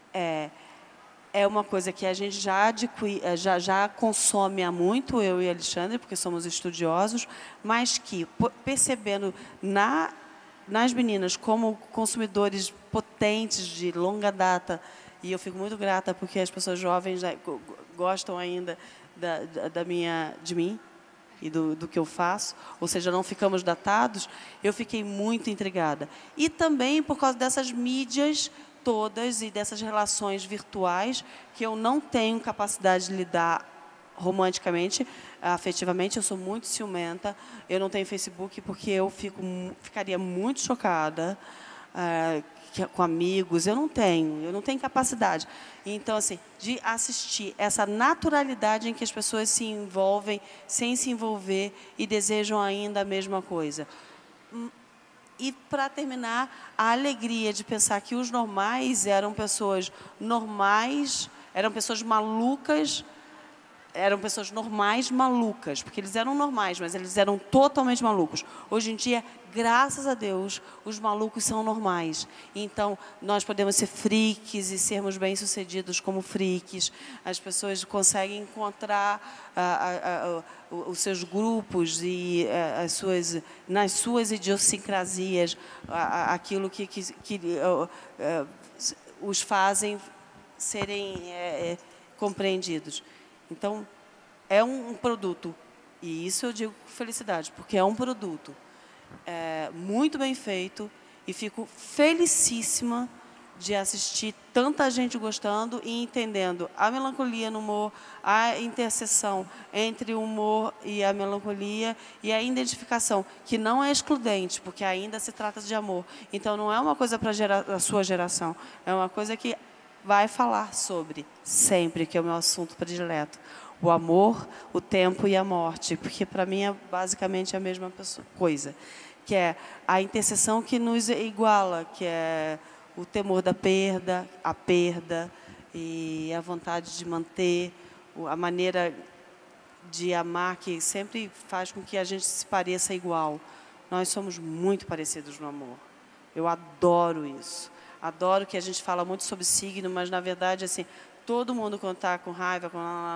é uma coisa que a gente já consome há muito, eu e Alexandre, porque somos estudiosos, mas que, percebendo nas meninas como consumidores potentes de longa data, e eu fico muito grata porque as pessoas jovens gostam ainda de mim e do que eu faço, ou seja, não ficamos datados, eu fiquei muito intrigada. E também por causa dessas mídias todas e dessas relações virtuais que eu não tenho capacidade de lidar romanticamente, afetivamente. Eu sou muito ciumenta, eu não tenho Facebook porque eu ficaria muito chocada com amigos, eu não tenho capacidade. Então, assim, de assistir essa naturalidade em que as pessoas se envolvem sem se envolver e desejam ainda a mesma coisa. E, para terminar, a alegria de pensar que os normais eram pessoas normais, eram pessoas malucas, eram pessoas normais malucas, porque eles eram normais, mas eles eram totalmente malucos. Hoje em dia, graças a Deus, os malucos são normais. Então, nós podemos ser freaks e sermos bem-sucedidos como freaks. As pessoas conseguem encontrar os seus grupos e nas suas idiosincrasias, aquilo que os fazem serem compreendidos. Então, é um produto, e isso eu digo com felicidade, porque é um produto muito bem feito, e fico felicíssima de assistir tanta gente gostando e entendendo a melancolia no humor, a interseção entre o humor e a melancolia, e a identificação, que não é excludente, porque ainda se trata de amor. Então, não é uma coisa para a sua geração, é uma coisa que vai falar sobre, sempre, que é o meu assunto predileto. O amor, o tempo e a morte, porque para mim é basicamente a mesma coisa, que é a interseção que nos iguala, que é o temor da perda, a perda e a vontade de manter, a maneira de amar que sempre faz com que a gente se pareça igual. Nós somos muito parecidos no amor. Eu adoro isso. Adoro que a gente fala muito sobre signo, mas, na verdade, assim, todo mundo, quando está com raiva,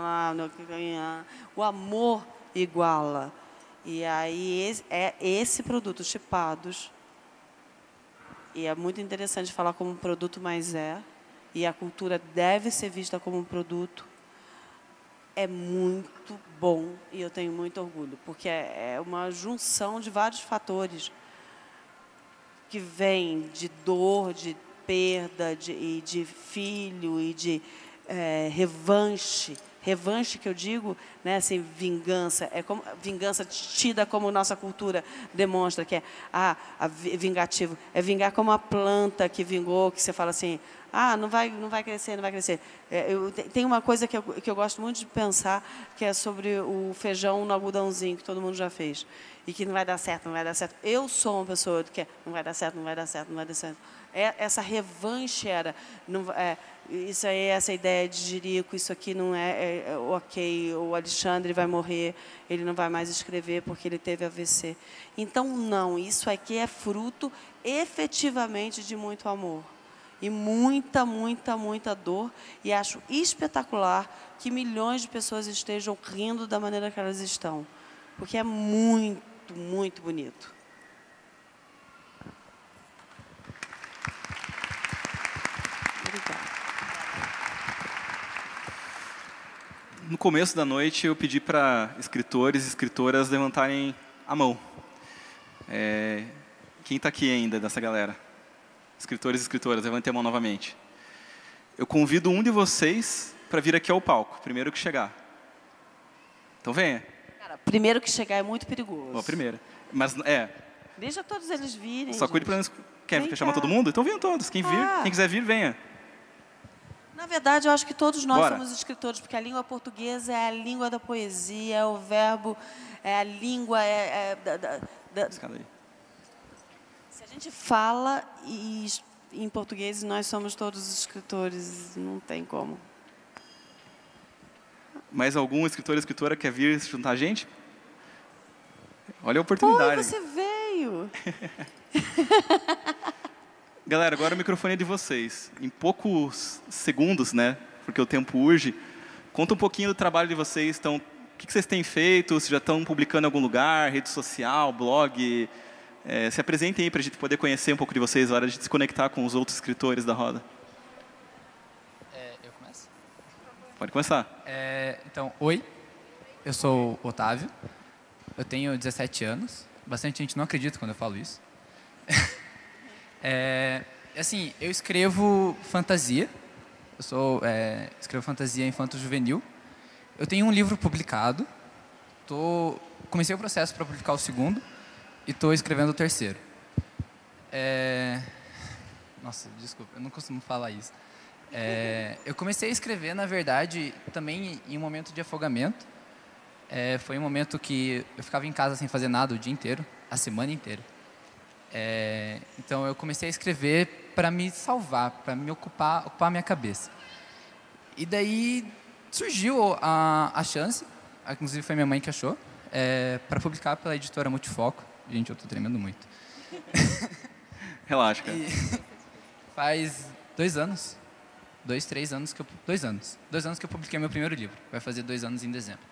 o amor iguala. E aí, é esse produto, Chipados, e é muito interessante falar como um produto, mas e a cultura deve ser vista como um produto, é muito bom, e eu tenho muito orgulho, porque é uma junção de vários fatores que vem de dor, de perda, de filho e de revanche. Revanche, que eu digo, né, assim, vingança, é como vingança tida como nossa cultura demonstra, que é vingativo, é vingar como a planta que vingou, que você fala assim, não vai crescer, não vai crescer. Tem uma coisa que eu gosto muito de pensar, que é sobre o feijão no algodãozinho, que todo mundo já fez, e que não vai dar certo, não vai dar certo. Eu sou uma pessoa que não vai dar certo, não vai dar certo, não vai dar certo. Essa revanche isso aí, essa ideia de Jerico, isso aqui não é ok, o Alexandre vai morrer, ele não vai mais escrever porque ele teve AVC. Então, não, isso aqui é fruto efetivamente de muito amor. E muita, muita, muita dor. E acho espetacular que milhões de pessoas estejam rindo da maneira que elas estão. Porque é muito, muito bonito. No começo da noite, eu pedi para escritores e escritoras levantarem a mão. Quem está aqui ainda dessa galera? Escritores e escritoras, levantem a mão novamente. Eu convido um de vocês para vir aqui ao palco, primeiro que chegar. Então venha. Cara, primeiro que chegar é muito perigoso. Bom, primeiro. Mas deixa todos eles virem. Só cuide para não... Quer chamar todo mundo? Então venham todos. Quem quiser vir, venha. Na verdade, eu acho que todos nós somos escritores, porque a língua portuguesa é a língua da poesia, é o verbo, é a língua... Se a gente fala em português, nós somos todos escritores, não tem como. Mais algum escritor ou escritora quer vir se juntar a gente? Olha a oportunidade. Você veio! Galera, agora o microfone é de vocês. Em poucos segundos, né? Porque o tempo urge. Conta um pouquinho do trabalho de vocês. Então, o que vocês têm feito? Se já estão publicando em algum lugar, rede social, blog? Se apresentem aí para a gente poder conhecer um pouco de vocês, na hora de se conectar com os outros escritores da roda. Eu começo? Pode começar. Então, oi. Eu sou o Otávio. Eu tenho 17 anos. Bastante gente não acredita quando eu falo isso. Assim, eu escrevo fantasia. Eu escrevo fantasia infanto-juvenil. Eu tenho um livro publicado. Comecei o processo para publicar o segundo e estou escrevendo o terceiro. Nossa, desculpa, eu não costumo falar isso. Eu comecei a escrever, na verdade, também em um momento de afogamento. Foi um momento que eu ficava em casa sem fazer nada o dia inteiro, a semana inteira. Então eu comecei a escrever para me salvar, para me ocupar a minha cabeça. E daí surgiu a chance, inclusive foi minha mãe que achou, para publicar pela editora Multifoco. Gente, eu estou tremendo muito. Relaxa, cara. Faz 2 anos. 2 anos que eu publiquei meu primeiro livro. Vai fazer 2 anos em dezembro.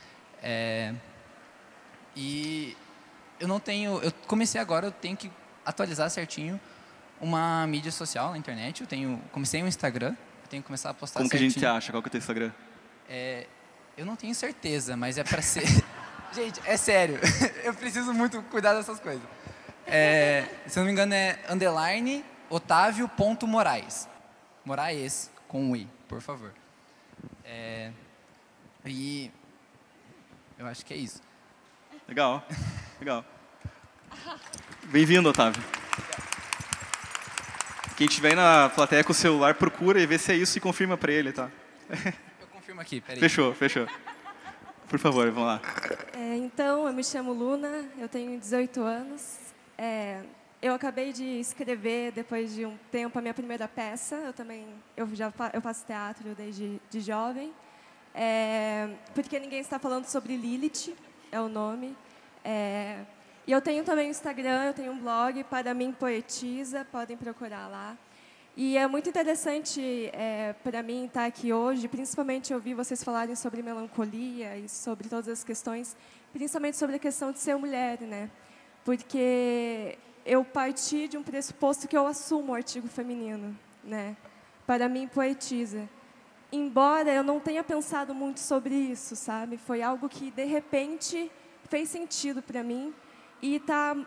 E eu comecei agora, eu tenho que atualizar certinho uma mídia social na internet. Comecei um Instagram, eu tenho que começar a postar Como certinho. que a gente acha? Qual que é o teu Instagram? Eu não tenho certeza, mas é para ser... Gente, é sério, eu preciso muito cuidar dessas coisas. Se eu não me engano é _Otávio.Moraes. Moraes, com um I, por favor. E eu acho que é isso. Legal, legal. Bem-vindo, Otávio. Quem estiver aí na plateia com o celular, procura e vê se é isso e confirma para ele, tá? Eu confirmo aqui, peraí. Fechou. Por favor, vamos lá. Então, eu me chamo Luna, eu tenho 18 anos. Eu acabei de escrever, depois de um tempo, a minha primeira peça. Eu faço teatro desde jovem. Porque ninguém está falando sobre Lilith, é o nome. E eu tenho também um Instagram, eu tenho um blog, Para Mim Poetisa, podem procurar lá. E é muito interessante para mim estar aqui hoje, principalmente ouvir vocês falarem sobre melancolia e sobre todas as questões, principalmente sobre a questão de ser mulher, né? Porque eu parti de um pressuposto que eu assumo o artigo feminino, né? Para mim, poetisa. Embora eu não tenha pensado muito sobre isso, sabe? Foi algo que, de repente, fez sentido para mim. E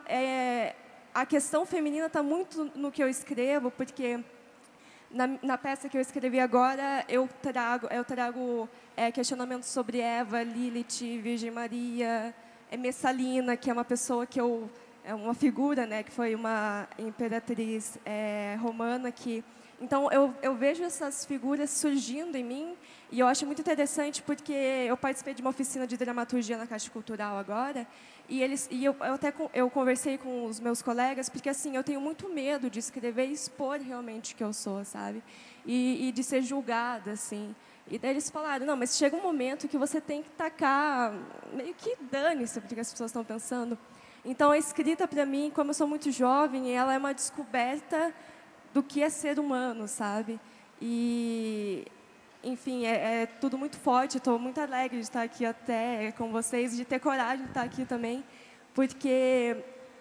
a questão feminina está muito no que eu escrevo, porque na peça que eu escrevi agora, eu trago questionamentos sobre Eva, Lilith, Virgem Maria, Messalina, que é uma pessoa é uma figura, né, que foi uma imperatriz romana que... Então, eu vejo essas figuras surgindo em mim e eu acho muito interessante porque eu participei de uma oficina de dramaturgia na Caixa Cultural agora eu conversei com os meus colegas porque, assim, eu tenho muito medo de escrever e expor realmente o que eu sou, sabe? E de ser julgada, assim. E daí eles falaram, não, mas chega um momento que você tem que tacar, meio que dane-se porque as pessoas estão pensando. Então, a escrita, para mim, como eu sou muito jovem, ela é uma descoberta do que é ser humano, sabe? E, enfim, é tudo muito forte. Estou muito alegre de estar aqui até com vocês, de ter coragem de estar aqui também, porque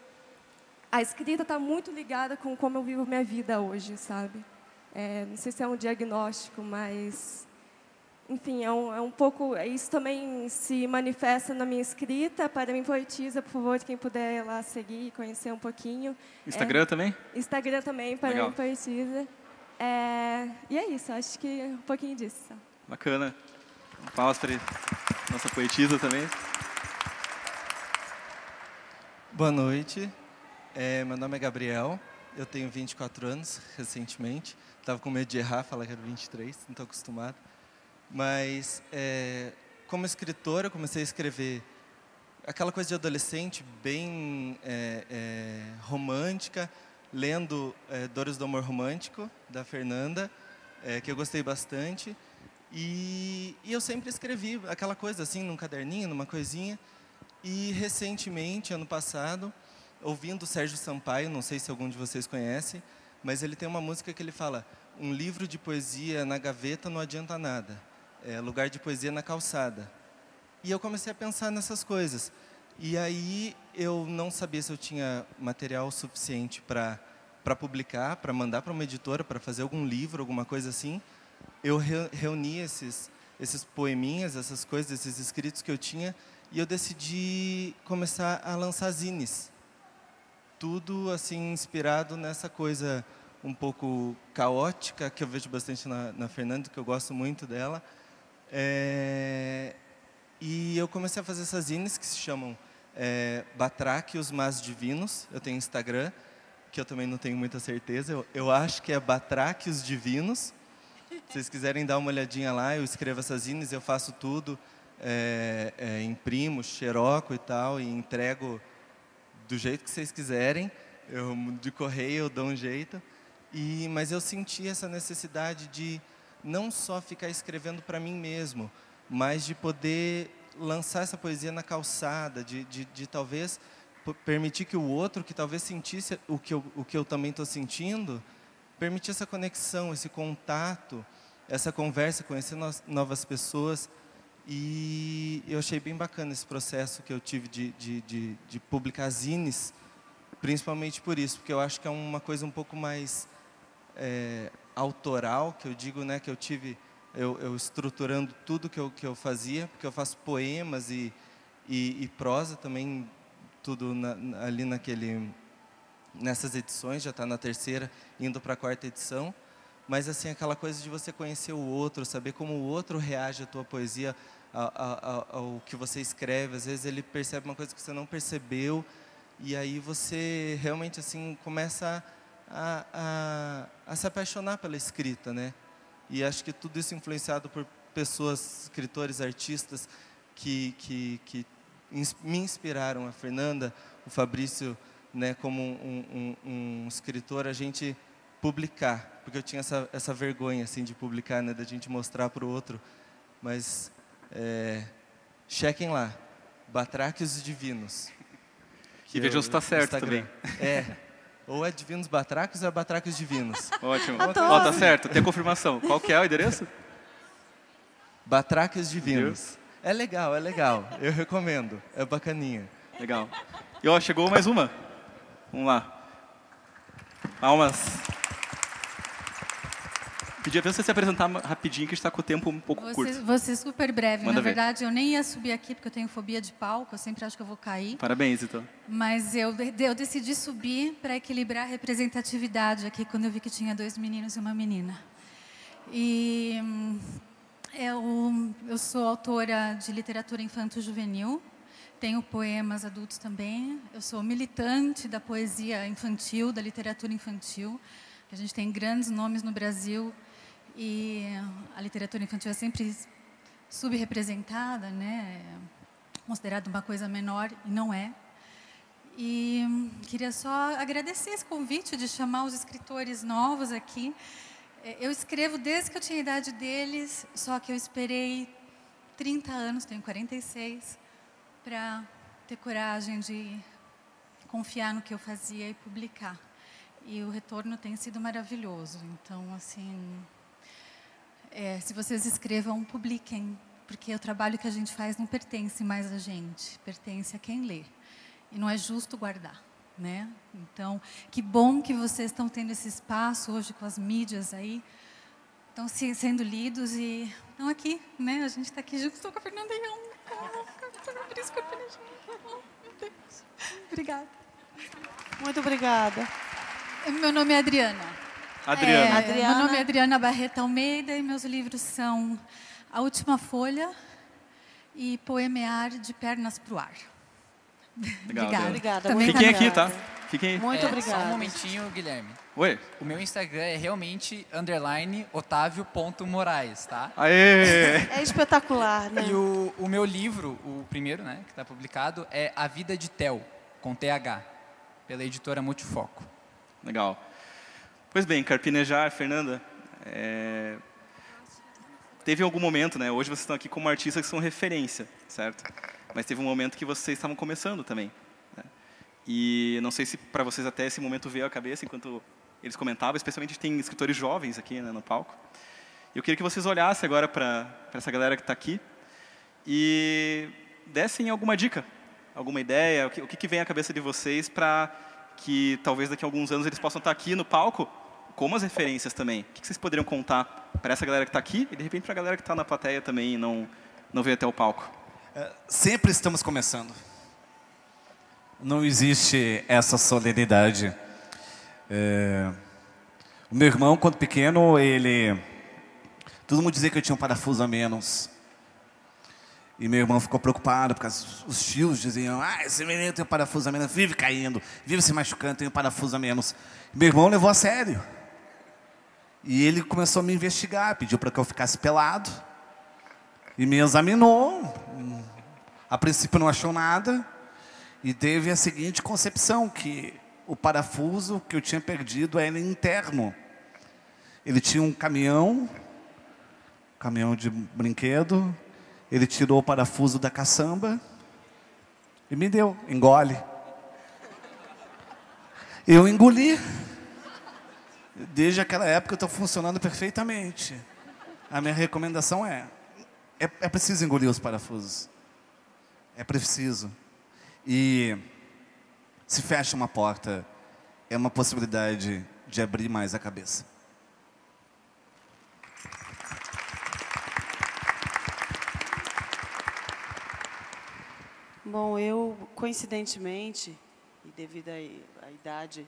a escrita está muito ligada com como eu vivo minha vida hoje, sabe? Não sei se é um diagnóstico, mas... Enfim, é um pouco... Isso também se manifesta na minha escrita. Para Mim Poetisa, por favor, quem puder ir lá seguir e conhecer um pouquinho. Instagram também? Instagram também, Para Mim Poetisa. E é isso, acho que um pouquinho disso. Bacana. Palmas para nossa poetisa também. Boa noite. Meu nome é Gabriel. Eu tenho 24 anos, recentemente. Estava com medo de errar, falar que era 23, não estou acostumado. Mas, como escritor, eu comecei a escrever aquela coisa de adolescente bem romântica, lendo Dores do Amor Romântico, da Fernanda, que eu gostei bastante. E eu sempre escrevi aquela coisa assim, num caderninho, numa coisinha. E, recentemente, ano passado, ouvindo o Sérgio Sampaio, não sei se algum de vocês conhece, mas ele tem uma música que ele fala: um livro de poesia na gaveta não adianta nada. Lugar de poesia na calçada. E eu comecei a pensar nessas coisas. E aí eu não sabia se eu tinha material suficiente para publicar, para mandar para uma editora, para fazer algum livro, alguma coisa assim. Eu reuni esses poeminhas, essas coisas, esses escritos que eu tinha, e eu decidi começar a lançar zines. Tudo assim inspirado nessa coisa um pouco caótica, que eu vejo bastante na Fernanda, que eu gosto muito dela. E eu comecei a fazer essas zines que se chamam Batráquios Mas Divinos. Eu tenho Instagram, que eu também não tenho muita certeza. Eu acho que é Batráquios Divinos. Se vocês quiserem dar uma olhadinha lá, eu escrevo essas zines, eu faço tudo. Imprimo, xeroco e tal, e entrego do jeito que vocês quiserem. De correio eu dou um jeito. Mas eu senti essa necessidade de não só ficar escrevendo para mim mesmo, mas de poder lançar essa poesia na calçada, de talvez permitir que o outro, que talvez sentisse o que eu também estou sentindo, permitir essa conexão, esse contato, essa conversa, conhecer novas pessoas. E eu achei bem bacana esse processo que eu tive de publicar zines, principalmente por isso, porque eu acho que é uma coisa um pouco mais autoral, que eu digo, né, que eu tive, eu estruturando tudo que eu fazia, porque eu faço poemas e prosa também, tudo ali nessas edições, já está na 3ª, indo para a 4ª edição. Mas assim, aquela coisa de você conhecer o outro, saber como o outro reage à tua poesia, ao que você escreve. Às vezes ele percebe uma coisa que você não percebeu, e aí você realmente assim começa a se apaixonar pela escrita, né? E acho que tudo isso influenciado por pessoas, escritores, artistas que me inspiraram. A Fernanda, o Fabrício, né, como um escritor, a gente publicar, porque eu tinha essa vergonha assim de publicar, né, da gente mostrar para o outro. Mas chequem lá, Batráquios Divinos. E vejam se está certo também. Ou é Divinos Batráquios ou é Batráquios Divinos. Ótimo. Tá certo, tem a confirmação. Qual que é o endereço? Batráquios Divinos. É legal, eu recomendo, é bacaninha. Legal. E chegou mais uma. Vamos lá. Palmas. Pedia para você se apresentar rapidinho, que está com o tempo um pouco curto. Vou ser super breve. Manda Na ver. verdade, eu nem ia subir aqui, porque eu tenho fobia de palco. Eu sempre acho que eu vou cair. Parabéns, então. Mas eu decidi subir para equilibrar a representatividade aqui, quando eu vi que tinha 2 meninos e uma menina. E eu sou autora de literatura infanto-juvenil. Tenho poemas adultos também. Eu sou militante da poesia infantil, da literatura infantil. A gente tem grandes nomes no Brasil e a literatura infantil é sempre subrepresentada, né? Considerada uma coisa menor, e não é. E queria só agradecer esse convite de chamar os escritores novos aqui. Eu escrevo desde que eu tinha a idade deles, só que eu esperei 30 anos, tenho 46, para ter coragem de confiar no que eu fazia e publicar. E o retorno tem sido maravilhoso. Então, assim, se vocês escrevam, publiquem, porque o trabalho que a gente faz não pertence mais a gente, pertence a quem lê. E não é justo guardar, né? Então, que bom que vocês estão tendo esse espaço hoje com as mídias aí, estão sendo lidos e estão aqui, né? A gente está aqui junto, estou com a Fernanda e meu Deus. Obrigada. Muito obrigada. Meu nome é Adriana. Adriana. Meu nome é Adriana Barreto Almeida e meus livros são A Última Folha e Poemear de Pernas pro Ar. Legal, obrigada. Fiquem aqui, tá? Fiquem aí. Muito obrigada. Só um momentinho, Guilherme. Oi. O meu Instagram é realmente _otavio.moraes, tá? Aê! É espetacular, né? E o meu livro, o primeiro, né, que está publicado, é A Vida de Theo, com TH, pela editora Multifoco. Legal. Pois bem, Carpinejar, Fernanda, teve algum momento, né? Hoje vocês estão aqui como artistas que são referência, certo? Mas teve um momento que vocês estavam começando também, né? E não sei se para vocês até esse momento veio à cabeça enquanto eles comentavam, especialmente tem escritores jovens aqui, né, no palco. Eu queria que vocês olhassem agora para essa galera que está aqui e dessem alguma dica, alguma ideia, o que vem à cabeça de vocês para que talvez daqui a alguns anos eles possam estar aqui no palco como as referências também. O que vocês poderiam contar para essa galera que está aqui e, de repente, para a galera que está na plateia também e não veio até o palco? Sempre estamos começando. Não existe essa solenidade. O meu irmão, quando pequeno, todo mundo dizia que eu tinha um parafuso a menos. E meu irmão ficou preocupado, porque os tios diziam, esse menino tem um parafuso a menos, vive caindo, vive se machucando, tem um parafuso a menos. E meu irmão levou a sério. E ele começou a me investigar, pediu para que eu ficasse pelado. E me examinou. A princípio não achou nada. E teve a seguinte concepção, que o parafuso que eu tinha perdido era interno. Ele tinha um caminhão de brinquedo, ele tirou o parafuso da caçamba e me deu, engole. Eu engoli. Desde aquela época eu estou funcionando perfeitamente. A minha recomendação é preciso engolir os parafusos. É preciso. E se fecha uma porta, é uma possibilidade de abrir mais a cabeça. Bom, eu, coincidentemente, e devido à idade,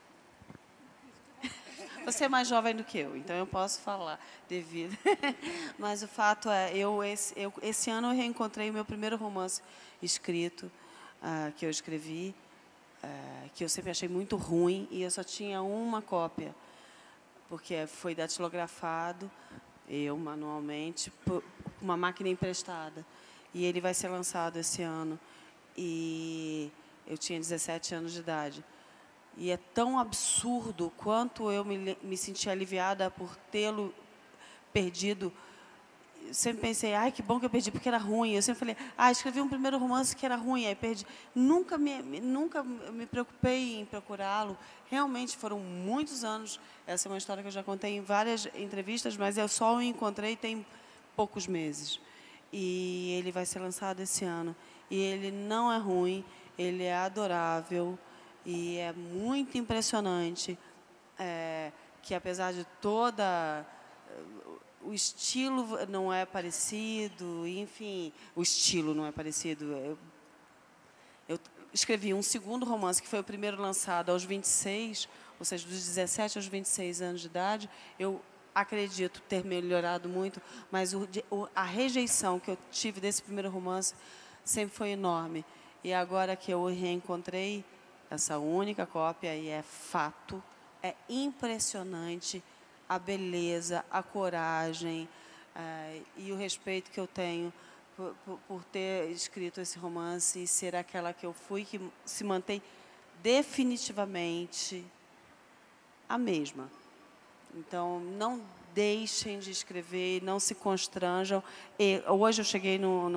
você é mais jovem do que eu, então eu posso falar devido. Mas o fato é, esse ano eu reencontrei o meu primeiro romance escrito, que eu escrevi, que eu sempre achei muito ruim, e eu só tinha uma cópia, porque foi datilografado, eu manualmente, por uma máquina emprestada. E ele vai ser lançado esse ano. E eu tinha 17 anos de idade. E é tão absurdo quanto eu me senti aliviada por tê-lo perdido. Eu sempre pensei, ai, que bom que eu perdi, porque era ruim. Eu sempre falei, escrevi um primeiro romance que era ruim, aí perdi. Nunca me preocupei em procurá-lo. Realmente foram muitos anos. Essa é uma história que eu já contei em várias entrevistas, mas eu só o encontrei tem poucos meses. E ele vai ser lançado esse ano. E ele não é ruim, ele é adorável e é muito impressionante que, apesar de toda... O estilo não é parecido, enfim, o estilo não é parecido. Eu escrevi um segundo romance, que foi o primeiro lançado aos 26, ou seja, dos 17 aos 26 anos de idade. Eu acredito ter melhorado muito, mas a rejeição que eu tive desse primeiro romance sempre foi enorme. E agora que eu reencontrei essa única cópia, e é fato, é impressionante a beleza, a coragem e o respeito que eu tenho por ter escrito esse romance e ser aquela que eu fui, que se mantém definitivamente a mesma. Então, não deixem de escrever, não se constranjam. E hoje eu cheguei no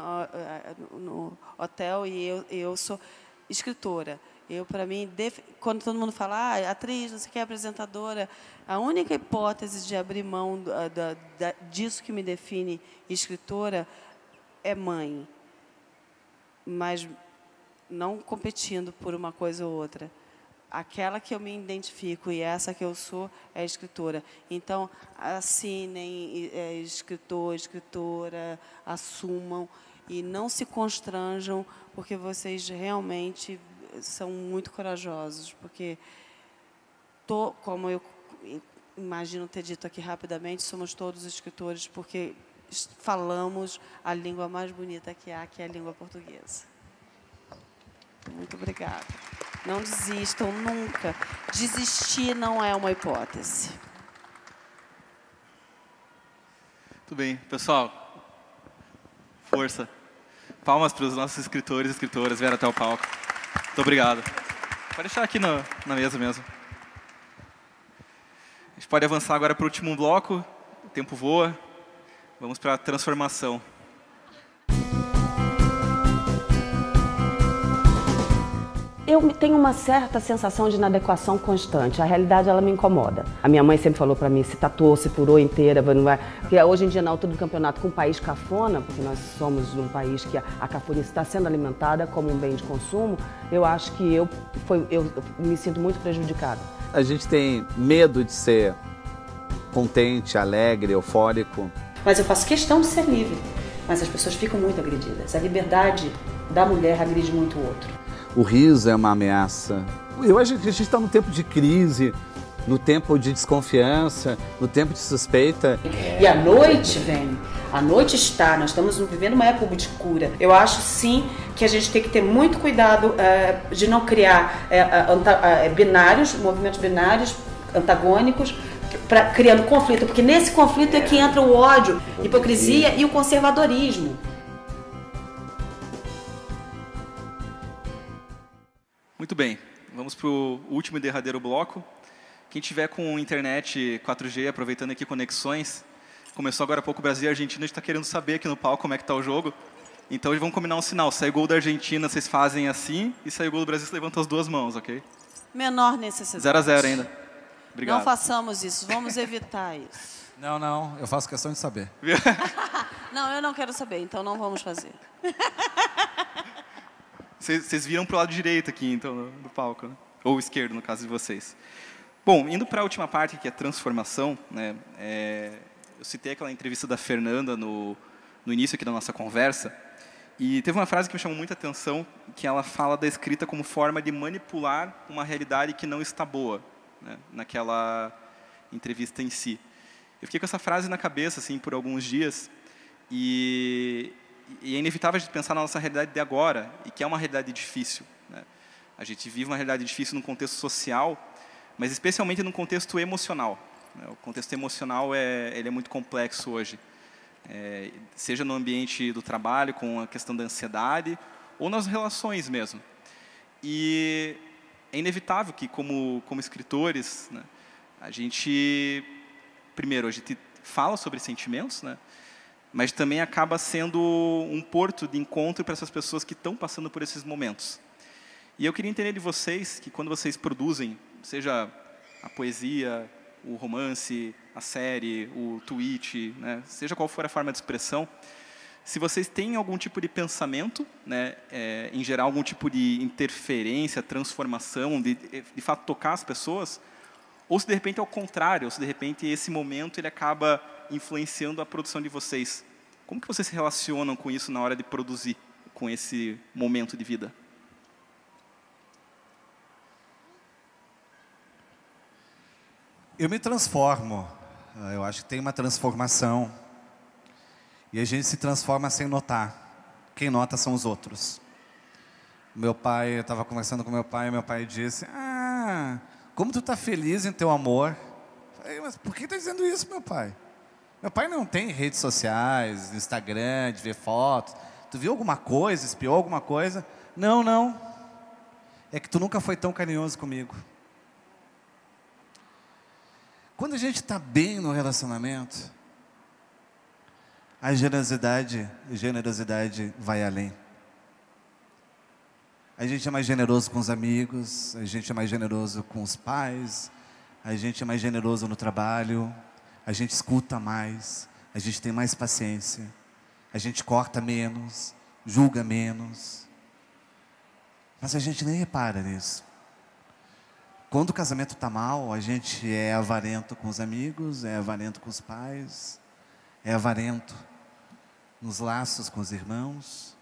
hotel e eu sou escritora. Para mim, quando todo mundo fala, atriz, não sei o que, apresentadora, a única hipótese de abrir mão disso que me define escritora é mãe. Mas não competindo por uma coisa ou outra. Aquela que eu me identifico e essa que eu sou é escritora. Então, assinem escritor, escritora, assumam e não se constranjam, porque vocês realmente são muito corajosos. Porque, como eu imagino ter dito aqui rapidamente, somos todos escritores, porque falamos a língua mais bonita que há, que é a língua portuguesa. Muito obrigada. Não desistam nunca. Desistir não é uma hipótese. Tudo bem. Pessoal, força. Palmas para os nossos escritores e escritoras. Vieram até o palco. Muito obrigado. Pode deixar aqui na mesa mesmo. A gente pode avançar agora para o último bloco. O tempo voa. Vamos para a transformação. Eu tenho uma certa sensação de inadequação constante. A realidade, ela me incomoda. A minha mãe sempre falou para mim, se tatuou, se furou inteira, não vai... Porque hoje em dia, na altura do campeonato, com um país cafona, porque nós somos um país que a cafonice está sendo alimentada como um bem de consumo, eu acho que eu me sinto muito prejudicada. A gente tem medo de ser contente, alegre, eufórico. Mas eu faço questão de ser livre. Mas as pessoas ficam muito agredidas. A liberdade da mulher agride muito o outro. O riso é uma ameaça. Eu acho que a gente está num tempo de crise, no tempo de desconfiança, no tempo de suspeita. E a noite vem, a noite está, nós estamos vivendo uma época de cura. Eu acho sim que a gente tem que ter muito cuidado de não criar binários, movimentos binários, antagônicos, criando conflito, porque nesse conflito é que entra o ódio, a hipocrisia e o conservadorismo. Muito bem. vamos para o último e derradeiro bloco. Quem tiver com internet 4G, aproveitando aqui conexões, começou agora há pouco o Brasil e a Argentina, a gente está querendo saber aqui no palco como é que está o jogo. Então, vamos combinar um sinal. Sai gol da Argentina, vocês fazem assim, e sai gol do Brasil, você levanta as duas mãos, ok? Menor necessidade. 0-0 ainda. Obrigado. Não façamos isso, vamos evitar isso. Não, eu faço questão de saber. Não, eu não quero saber, então não vamos fazer. Vocês viram para o lado direito aqui, então, do palco, né? Ou esquerdo, no caso de vocês. Bom, indo para a última parte, que é transformação, né? Eu citei aquela entrevista da Fernanda no início aqui da nossa conversa, e teve uma frase que me chamou muita atenção, que ela fala da escrita como forma de manipular uma realidade que não está boa, né? Naquela entrevista em si. Eu fiquei com essa frase na cabeça assim, por alguns dias, e é inevitável a gente pensar na nossa realidade de agora, e que é uma realidade difícil, né? A gente vive uma realidade difícil num contexto social, mas especialmente num contexto emocional, né? O contexto emocional ele é muito complexo hoje, seja no ambiente do trabalho, com a questão da ansiedade, ou nas relações mesmo. E é inevitável que, como escritores, né, a gente fala sobre sentimentos, né, mas também acaba sendo um porto de encontro para essas pessoas que estão passando por esses momentos. E eu queria entender de vocês que, quando vocês produzem, seja a poesia, o romance, a série, o tweet, né, seja qual for a forma de expressão, se vocês têm algum tipo de pensamento, né, em gerar algum tipo de interferência, transformação, de fato tocar as pessoas, ou se de repente é o contrário, ou se de repente esse momento ele acaba influenciando a produção de vocês. Como que vocês se relacionam com isso na hora de produzir, com esse momento de vida? Eu me transformo. Eu acho que tem uma transformação. E a gente se transforma sem notar. Quem nota são os outros. Meu pai, eu estava conversando com meu pai disse: como tu está feliz em teu amor. Eu falei: mas por que está dizendo isso, meu pai? Meu pai não tem redes sociais, Instagram, de ver fotos. Tu viu alguma coisa, espiou alguma coisa? Não. É que tu nunca foi tão carinhoso comigo. Quando a gente está bem no relacionamento, a generosidade vai além. A gente é mais generoso com os amigos, a gente é mais generoso com os pais, a gente é mais generoso no trabalho, a gente escuta mais, a gente tem mais paciência, a gente corta menos, julga menos. Mas a gente nem repara nisso. Quando o casamento está mal, a gente é avarento com os amigos, é avarento com os pais, é avarento nos laços com os irmãos.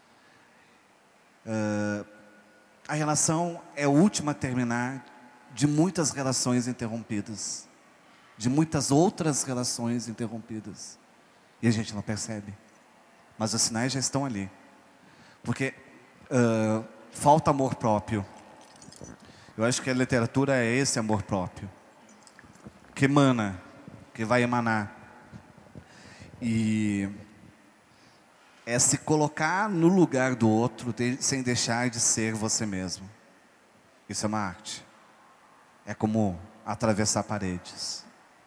A relação é a última a terminar de muitas relações interrompidas, de muitas outras relações interrompidas. E a gente não percebe. Mas os sinais já estão ali. Porque falta amor próprio. Eu acho que a literatura é esse amor próprio, que emana, que vai emanar. E é se colocar no lugar do outro, sem deixar de ser você mesmo. Isso é uma arte. É como atravessar paredes.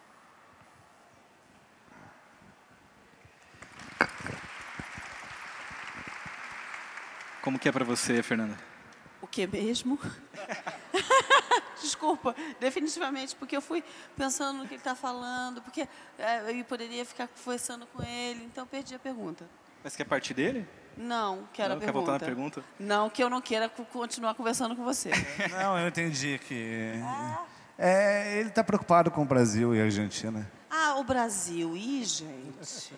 Como que é para você, Fernanda? O que mesmo? Desculpa, definitivamente, porque eu fui pensando no que ele está falando, porque eu poderia ficar conversando com ele, então perdi a pergunta. Mas quer partir dele? Não, quero a pergunta. Quer voltar na pergunta? Não, que eu não queira continuar conversando com você. Não, eu entendi que... ele está preocupado com o Brasil e a Argentina. O Brasil. Ih, gente.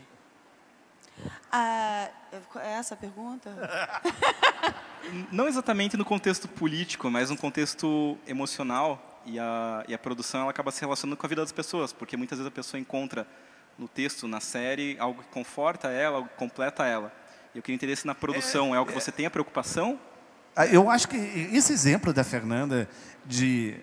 É essa a pergunta? Não exatamente no contexto político, mas no contexto emocional. E a produção ela acaba se relacionando com a vida das pessoas, porque muitas vezes a pessoa encontra no texto, na série, algo que conforta ela, algo que completa ela. Eu queria entender se na produção é algo que você tem a preocupação. Eu acho que esse exemplo da Fernanda de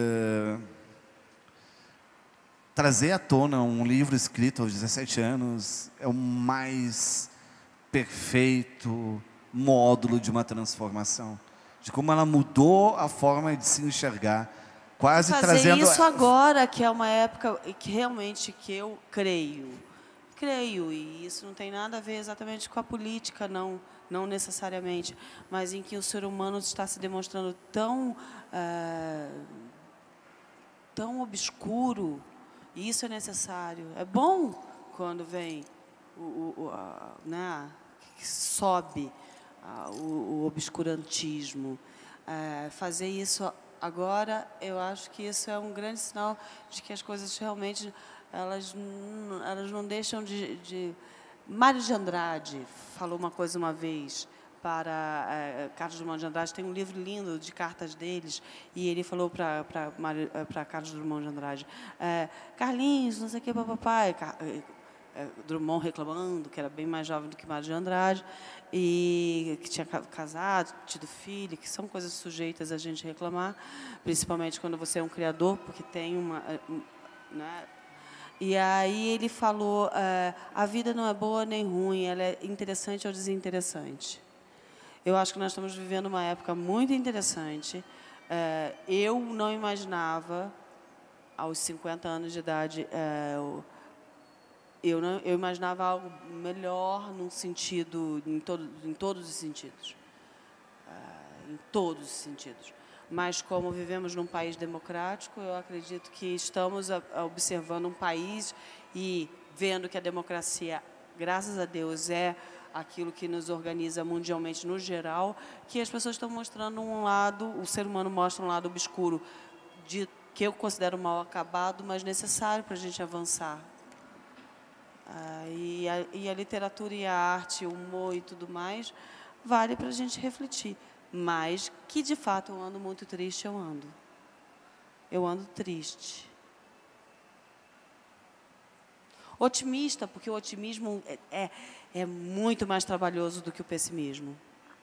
trazer à tona um livro escrito aos 17 anos é o mais perfeito módulo de uma transformação. de como ela mudou a forma de se enxergar, quase fazer trazendo... isso agora, que é uma época que realmente que eu creio, e isso não tem nada a ver exatamente com a política, não necessariamente, mas em que o ser humano está se demonstrando tão obscuro, e isso é necessário. É bom quando vem que sobe o obscurantismo. Fazer isso agora, eu acho que isso é um grande sinal de que as coisas realmente elas não deixam de... Mário de Andrade falou uma coisa uma vez para Carlos Drummond de Andrade. Tem um livro lindo de cartas deles, e ele falou para Carlos Drummond de Andrade, Carlinhos, não sei o que, papai. Drummond reclamando que era bem mais jovem do que Mário de Andrade e que tinha casado, tido filho, que são coisas sujeitas a gente reclamar, principalmente quando você é um criador, porque tem uma... né? E aí ele falou, a vida não é boa nem ruim, ela é interessante ou desinteressante. Eu acho que nós estamos vivendo uma época muito interessante. Eu não imaginava, aos 50 anos de idade, eu imaginava algo melhor num sentido, em todos os sentidos. Em todos os sentidos. Mas, como vivemos num país democrático, eu acredito que estamos observando um país e vendo que a democracia, graças a Deus, é aquilo que nos organiza mundialmente no geral, que as pessoas estão mostrando um lado, o ser humano mostra um lado obscuro, que eu considero mal acabado, mas necessário para a gente avançar. E a literatura e a arte, o humor e tudo mais, vale para a gente refletir. Mas que, de fato, eu ando muito triste, eu ando. Eu ando triste. Otimista, porque o otimismo é muito mais trabalhoso do que o pessimismo.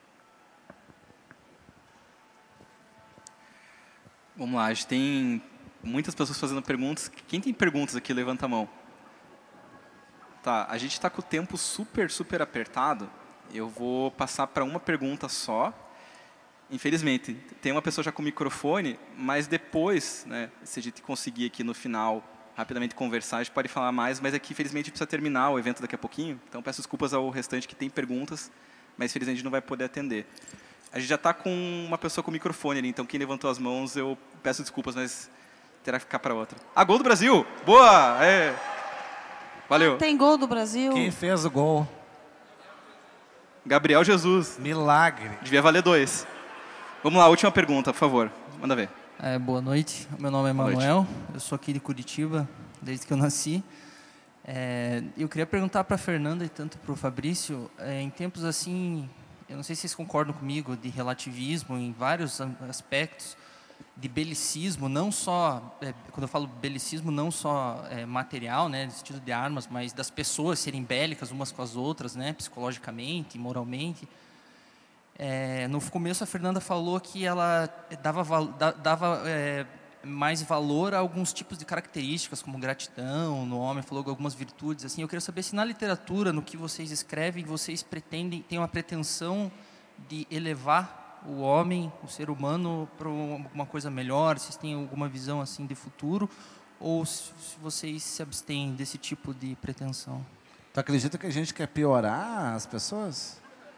Vamos lá, a gente tem muitas pessoas fazendo perguntas. Quem tem perguntas aqui, levanta a mão. Tá, a gente está com o tempo super apertado. Eu vou passar para uma pergunta só. Infelizmente, tem uma pessoa já com o microfone, mas depois, né, se a gente conseguir aqui no final rapidamente conversar, a gente pode falar mais, mas aqui, infelizmente, precisa terminar o evento daqui a pouquinho. Então, peço desculpas ao restante que tem perguntas, mas, infelizmente, a gente não vai poder atender. A gente já está com uma pessoa com o microfone ali, então quem levantou as mãos, eu peço desculpas, mas terá que ficar para outra. Gol do Brasil! Boa! Valeu. Tem gol do Brasil? Quem fez o gol? Gabriel Jesus. Milagre. Devia valer 2. Vamos lá, última pergunta, por favor. Manda ver. Boa noite, meu nome é Manuel, eu sou aqui de Curitiba, desde que eu nasci. Eu queria perguntar para a Fernanda e tanto para o Fabrício, em tempos assim, eu não sei se vocês concordam comigo, de relativismo em vários aspectos, de belicismo, não só, quando eu falo belicismo, não só material, né, no sentido de armas, mas das pessoas serem bélicas umas com as outras, né, psicologicamente, moralmente. No começo a Fernanda falou que ela dava mais valor a alguns tipos de características, como gratidão no homem, falou algumas virtudes. Assim, eu queria saber se na literatura, no que vocês escrevem, vocês têm uma pretensão de elevar o homem, o ser humano, para uma coisa melhor, se vocês têm alguma visão assim de futuro, ou se vocês se abstêm desse tipo de pretensão. Tu acredita que a gente quer piorar as pessoas?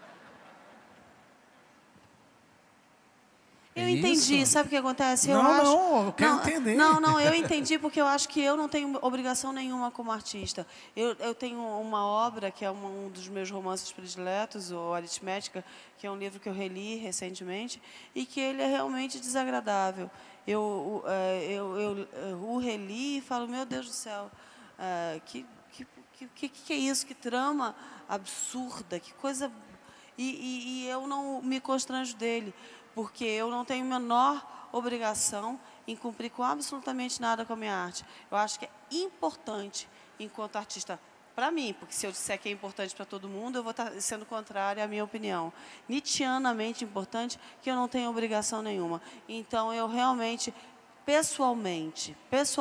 Eu entendi, sabe o que acontece? Eu quero entender. Não, eu entendi porque eu acho que eu não tenho obrigação nenhuma como artista. Eu tenho uma obra que é um dos meus romances prediletos, o Aritmética, que é um livro que eu reli recentemente e que ele é realmente desagradável. Eu o reli e falo, meu Deus do céu, que é isso? Que trama absurda, que coisa... E eu não me constranjo dele, porque eu não tenho a menor obrigação em cumprir com absolutamente nada com a minha arte. Eu acho que é importante, enquanto artista, para mim, porque se eu disser que é importante para todo mundo, eu vou estar sendo contrária à minha opinião. Nietzscheanamente importante, que eu não tenho obrigação nenhuma. Então, eu realmente, pessoalmente,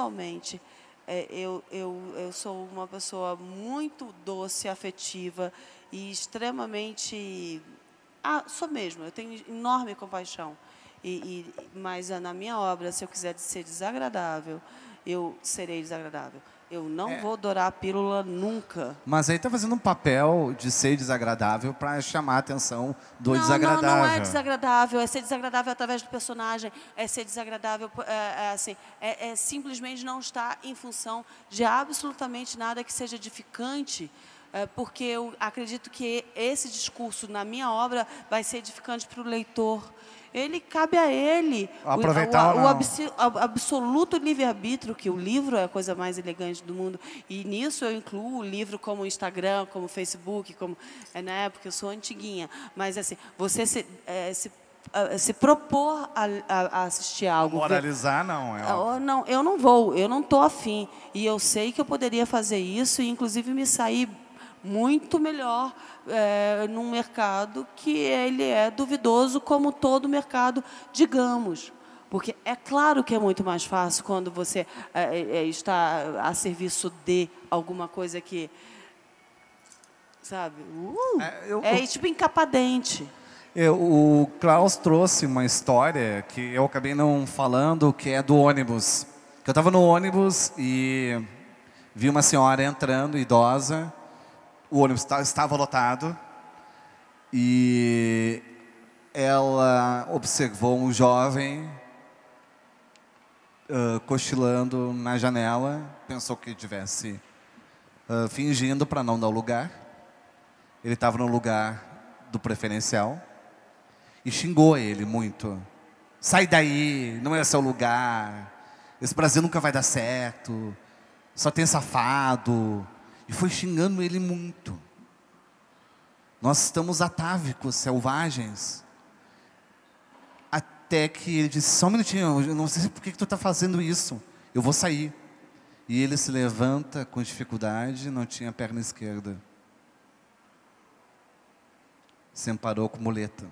eu sou uma pessoa muito doce, afetiva e extremamente sou mesmo, eu tenho enorme compaixão. Mas na minha obra, se eu quiser ser desagradável, eu serei desagradável. Eu não vou dourar a pílula nunca. Mas aí tá fazendo um papel de ser desagradável para chamar a atenção do desagradável. Não é desagradável, é ser desagradável através do personagem, é ser desagradável, é simplesmente não estar em função de absolutamente nada que seja edificante, porque eu acredito que esse discurso na minha obra vai ser edificante para o leitor. Ele cabe a ele aproveitar o absoluto livre-arbítrio, que o livro é a coisa mais elegante do mundo. E nisso eu incluo o livro como Instagram, como Facebook, como, né, porque eu sou antiguinha. Mas assim, você se propor a assistir algo. Moralizar, não. Não, eu não vou, eu não estou afim. E eu sei que eu poderia fazer isso e, inclusive, me sair muito melhor num mercado que ele é duvidoso, como todo mercado, digamos. Porque é claro que é muito mais fácil quando você está a serviço de alguma coisa que, sabe, tipo encapadente. O Klaus trouxe uma história que eu acabei não falando, que é do ônibus. Eu estava no ônibus e vi uma senhora entrando, idosa. O ônibus estava lotado e ela observou um jovem cochilando na janela. Pensou que estivesse fingindo para não dar o lugar. Ele estava no lugar do preferencial e xingou ele muito. Sai daí, não é seu lugar. Esse Brasil nunca vai dar certo. Só tem safado. E foi xingando ele muito. Nós estamos atávicos, selvagens. Até que ele disse, só um minutinho, eu não sei por que tu está fazendo isso. Eu vou sair. E ele se levanta com dificuldade, não tinha perna esquerda. Se amparou com muleta.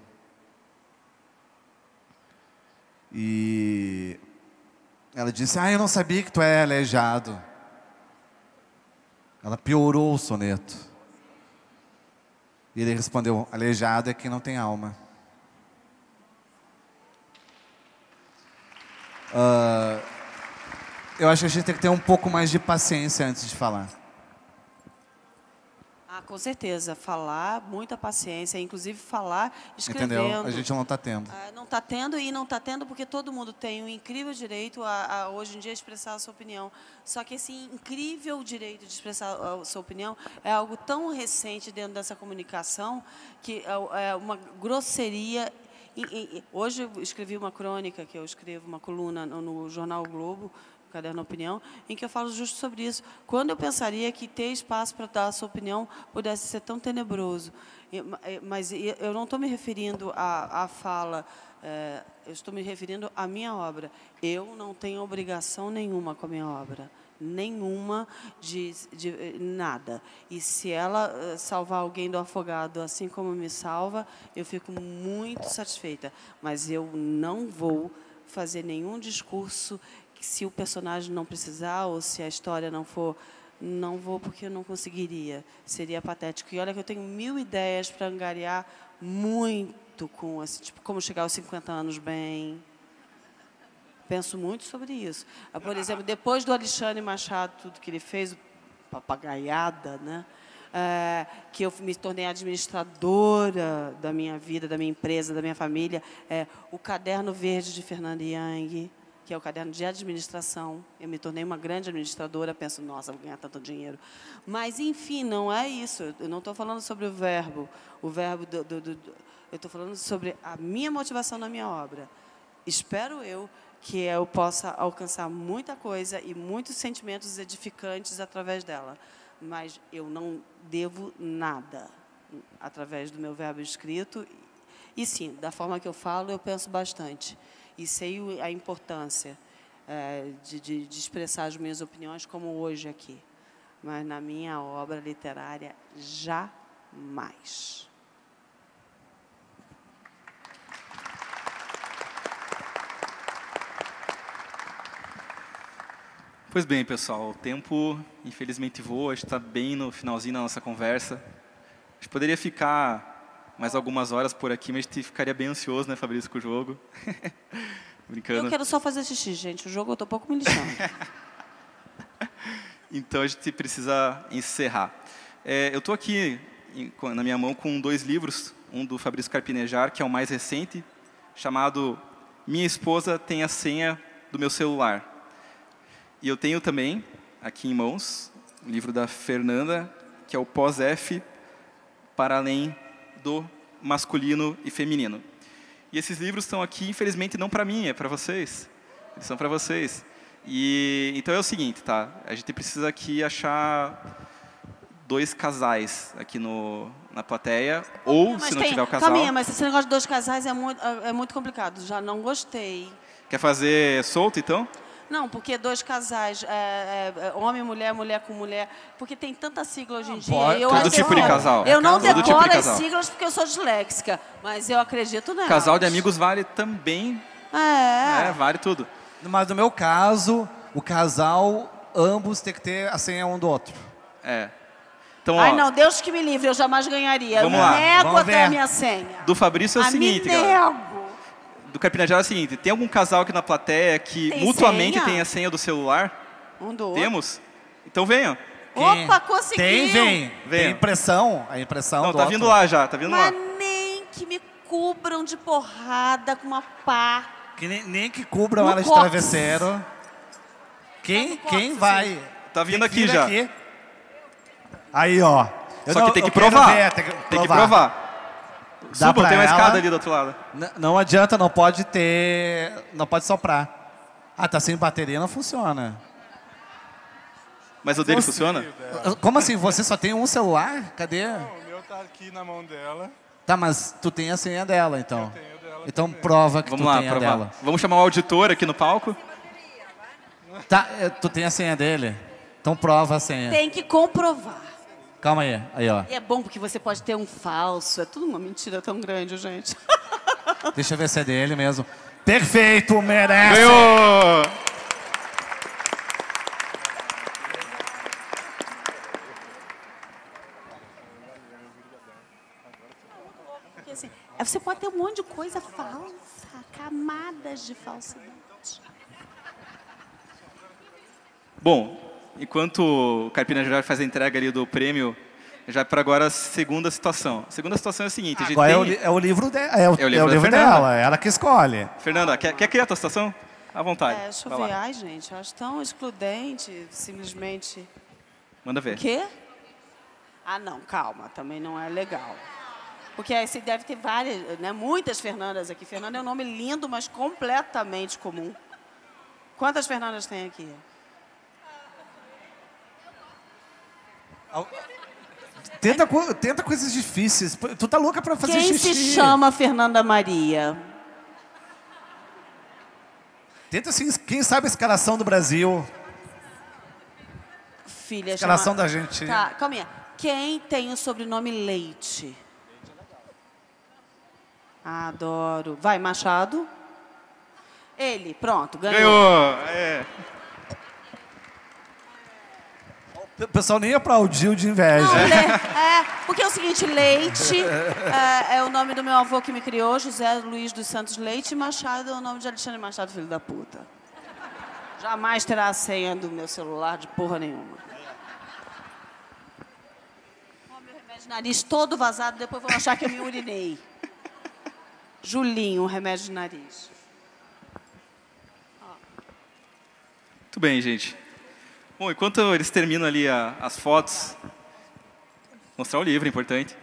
E ela disse, eu não sabia que tu é aleijado. Ela piorou o soneto. E ele respondeu, aleijado é quem não tem alma. Eu acho que a gente tem que ter um pouco mais de paciência antes de falar. Com certeza. Falar, muita paciência. Inclusive falar escrevendo. Entendeu? A gente não está tendo. Não está tendo e não está tendo porque todo mundo tem um incrível direito a hoje em dia, expressar a sua opinião. Só que esse incrível direito de expressar a sua opinião é algo tão recente dentro dessa comunicação que é uma grosseria. Hoje eu escrevi uma crônica, que eu escrevo uma coluna no jornal o Globo, Caderno Opinião, em que eu falo justo sobre isso. Quando eu pensaria que ter espaço para dar a sua opinião pudesse ser tão tenebroso. Mas eu não estou me referindo à fala, eu estou me referindo à minha obra. Eu não tenho obrigação nenhuma com a minha obra. Nenhuma de nada. E se ela salvar alguém do afogado, assim como me salva, eu fico muito satisfeita. Mas eu não vou fazer nenhum discurso se o personagem não precisar ou se a história não for, não vou porque eu não conseguiria. Seria patético. E olha que eu tenho 1000 ideias para angariar muito com esse tipo, como chegar aos 50 anos bem. Penso muito sobre isso. Por exemplo, depois do Alexandre Machado, tudo que ele fez, papagaiada, né? Que eu me tornei administradora da minha vida, da minha empresa, da minha família, o Caderno Verde de Fernanda Young, que é o caderno de administração. Eu me tornei uma grande administradora, penso, nossa, vou ganhar tanto dinheiro. Mas, enfim, não é isso. Eu não estou falando sobre o verbo. Eu estou falando sobre a minha motivação na minha obra. Espero eu que eu possa alcançar muita coisa e muitos sentimentos edificantes através dela. Mas eu não devo nada através do meu verbo escrito. E, sim, da forma que eu falo, eu penso bastante. E sei a importância de expressar as minhas opiniões, como hoje aqui. Mas na minha obra literária, jamais. Pois bem, pessoal, o tempo, infelizmente, voa. A gente está bem no finalzinho da nossa conversa. A gente poderia ficar mais algumas horas por aqui, mas a gente ficaria bem ansioso, né, Fabrício, com o jogo. Brincando. Eu quero só fazer xixi, gente. O jogo eu tô um pouco me lixando. Então a gente precisa encerrar. Eu estou aqui na minha mão com 2 livros, um do Fabrício Carpinejar, que é o mais recente, chamado Minha Esposa Tem a Senha do Meu Celular. E eu tenho também, aqui em mãos, o livro da Fernanda, que é o Pós-F, para além do masculino e feminino. E esses livros estão aqui, infelizmente, não para mim, é para vocês. Eles são para vocês. E então é o seguinte, tá? A gente precisa aqui achar 2 casais aqui na plateia, ou mas se não tiver o casal... Caminha, mas esse negócio de 2 casais é muito complicado. Já não gostei. Quer fazer solto, então? Não, porque 2 casais, homem e mulher, mulher com mulher, porque tem tanta sigla hoje em dia. Todo tipo de casal. Eu não Todo decoro tipo de as casal. siglas porque eu sou disléxica, mas eu acredito nelas. Casal de amigos vale também. Vale tudo. Mas no meu caso, o casal, ambos tem que ter a senha um do outro. Então, Ai, não, Deus que me livre, eu jamais ganharia. Vamos eu me lá. nego Vamos até ver. a minha senha. Do Fabrício é o seguinte, me galera. nego. Do Carpinejar é o seguinte, tem algum casal aqui na plateia que Tem mutuamente senha? tem a senha do celular? Um do outro. Temos? Então venham. Opa, conseguiu. Tem Venha. impressão. A impressão Não, do tá outro. vindo lá já, tá vindo Mas lá. nem que me cubram de porrada com uma pá. Que nem que cubram No ela de cox. travesseiro. Quem vai? Tá vindo Tem aqui vir já. aqui. Aí, ó. Só que tem que eu quero provar. ver, Tem que provar. Dá Suba, pra tem uma ela. escada ali do outro lado. Não adianta, não pode soprar. Ah, tá sem bateria, não funciona. Mas o dele funciona? Como assim? Você só tem um celular? Cadê? Não, o meu tá aqui na mão dela. Tá, mas tu tem a senha dela, então. Eu tenho dela Então também. prova que Vamos tu lá, tem a provar. dela. Vamos chamar o auditor aqui no palco? Tá, tu tem a senha dele? Então prova a senha. Tem que comprovar. Calma aí. Aí, ó. E é bom porque você pode ter um falso. É tudo uma mentira tão grande, gente. Deixa eu ver se é dele mesmo. Perfeito, merece! Ganhou! Porque, assim, você pode ter um monte de coisa falsa, camadas de falsidade. Bom, enquanto o Carpinejar faz a entrega ali do prêmio, já para agora a segunda situação. A segunda situação é a seguinte. A gente Agora tem... é o livro, É o livro da Fernanda. dela, ela que escolhe. Fernanda, quer criar a tua situação? À vontade. Deixa eu Vai ver. lá. Ai, gente, eu acho tão excludente, simplesmente. Manda ver. O quê? Ah, não, calma, também não é legal. Porque aí você deve ter várias, né, muitas Fernandas aqui. Fernanda é um nome lindo, mas completamente comum. Quantas Fernandas tem aqui? Tenta coisas difíceis. Tu tá louca pra fazer Quem xixi. se chama Fernanda Maria? Tenta assim, quem sabe a escalação do Brasil. Filha, Escalação da Argentina. Tá, calma aí. Quem tem o sobrenome Leite? Adoro. Vai, Machado. Ele, pronto, ganhou. Ganhou! É. O pessoal nem aplaudiu de inveja. Porque é o seguinte, Leite é o nome do meu avô que me criou, José Luiz dos Santos Leite, e Machado é o nome de Alexandre Machado, filho da puta. Jamais terá a senha do meu celular de porra nenhuma. Ó, meu remédio de nariz todo vazado, depois vão achar que eu me urinei. Julinho, remédio de nariz. Muito bem, gente. Bom, enquanto eles terminam ali as fotos, mostrar o livro, é importante.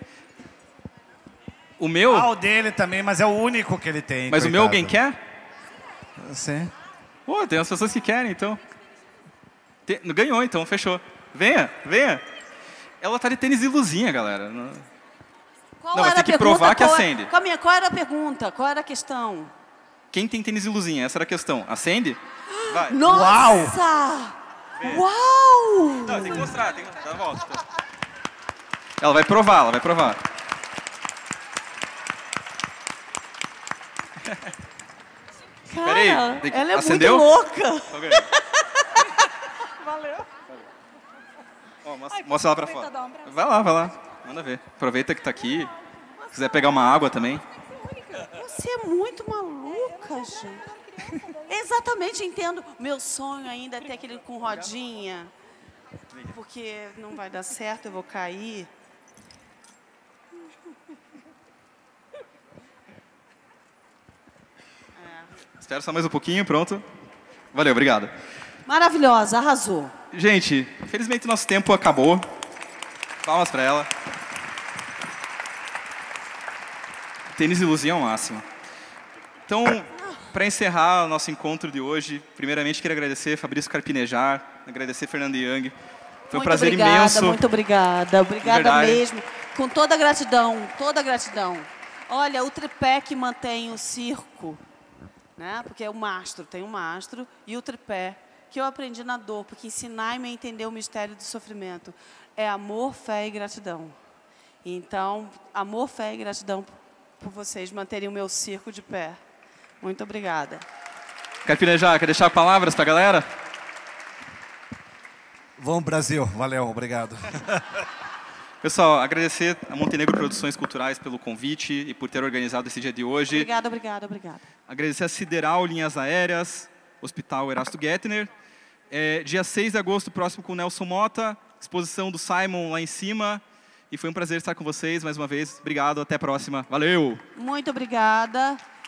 O meu... Ah, o dele também, mas é o único que ele tem. Mas coitado. o meu alguém quer? Sim. Pô, tem umas pessoas que querem, então. Ganhou, então, fechou. Venha, venha. Ela tá de tênis e luzinha, galera. Qual Não, mas era tem a que pergunta? provar que acende. Calma aí, qual era a pergunta? Qual era a questão? Quem tem tênis e luzinha? Essa era a questão. Acende? Vai. Nossa! Uau! Não, tem que mostrar, tem que dar a volta. Tá. Ela vai provar, ela vai provar. Cara, Peraí, ela é acendeu? muito louca. Ok. Valeu. Ó, mostra ela pra fora. Vai lá, vai lá. Manda ver. Aproveita que tá aqui. Se quiser pegar uma água também. Você é muito maluca, gente. Exatamente, entendo. Meu sonho ainda é ter aquele com rodinha. Porque não vai dar certo, eu vou cair. Espera só mais um pouquinho, pronto. Valeu, obrigado. Maravilhosa, arrasou. Gente, infelizmente nosso tempo acabou. Palmas para ela. Tênis e luzinha ao máximo. Então, para encerrar o nosso encontro de hoje, primeiramente queria agradecer Fabrício Carpinejar, agradecer Fernanda Young. Foi um prazer imenso. Muito obrigada. Obrigada mesmo. Com toda a gratidão, toda a gratidão. Olha, o tripé que mantém o circo, né? Porque é o mastro, tem um mastro, e o tripé, que eu aprendi na dor, porque ensinar-me a entender o mistério do sofrimento é amor, fé e gratidão. Então, amor, fé e gratidão por vocês manterem o meu circo de pé. Muito obrigada. Carpinejar, quer deixar palavras para a galera? Vamos, Brasil. Valeu, obrigado. Pessoal, agradecer a Montenegro Produções Culturais pelo convite e por ter organizado esse dia de hoje. Obrigada, obrigada, obrigada. Agradecer a Sideral Linhas Aéreas, Hospital Erasto Gettner. Dia 6 de agosto, próximo com o Nelson Mota, exposição do Simon lá em cima. E foi um prazer estar com vocês mais uma vez. Obrigado, até a próxima. Valeu! Muito obrigada.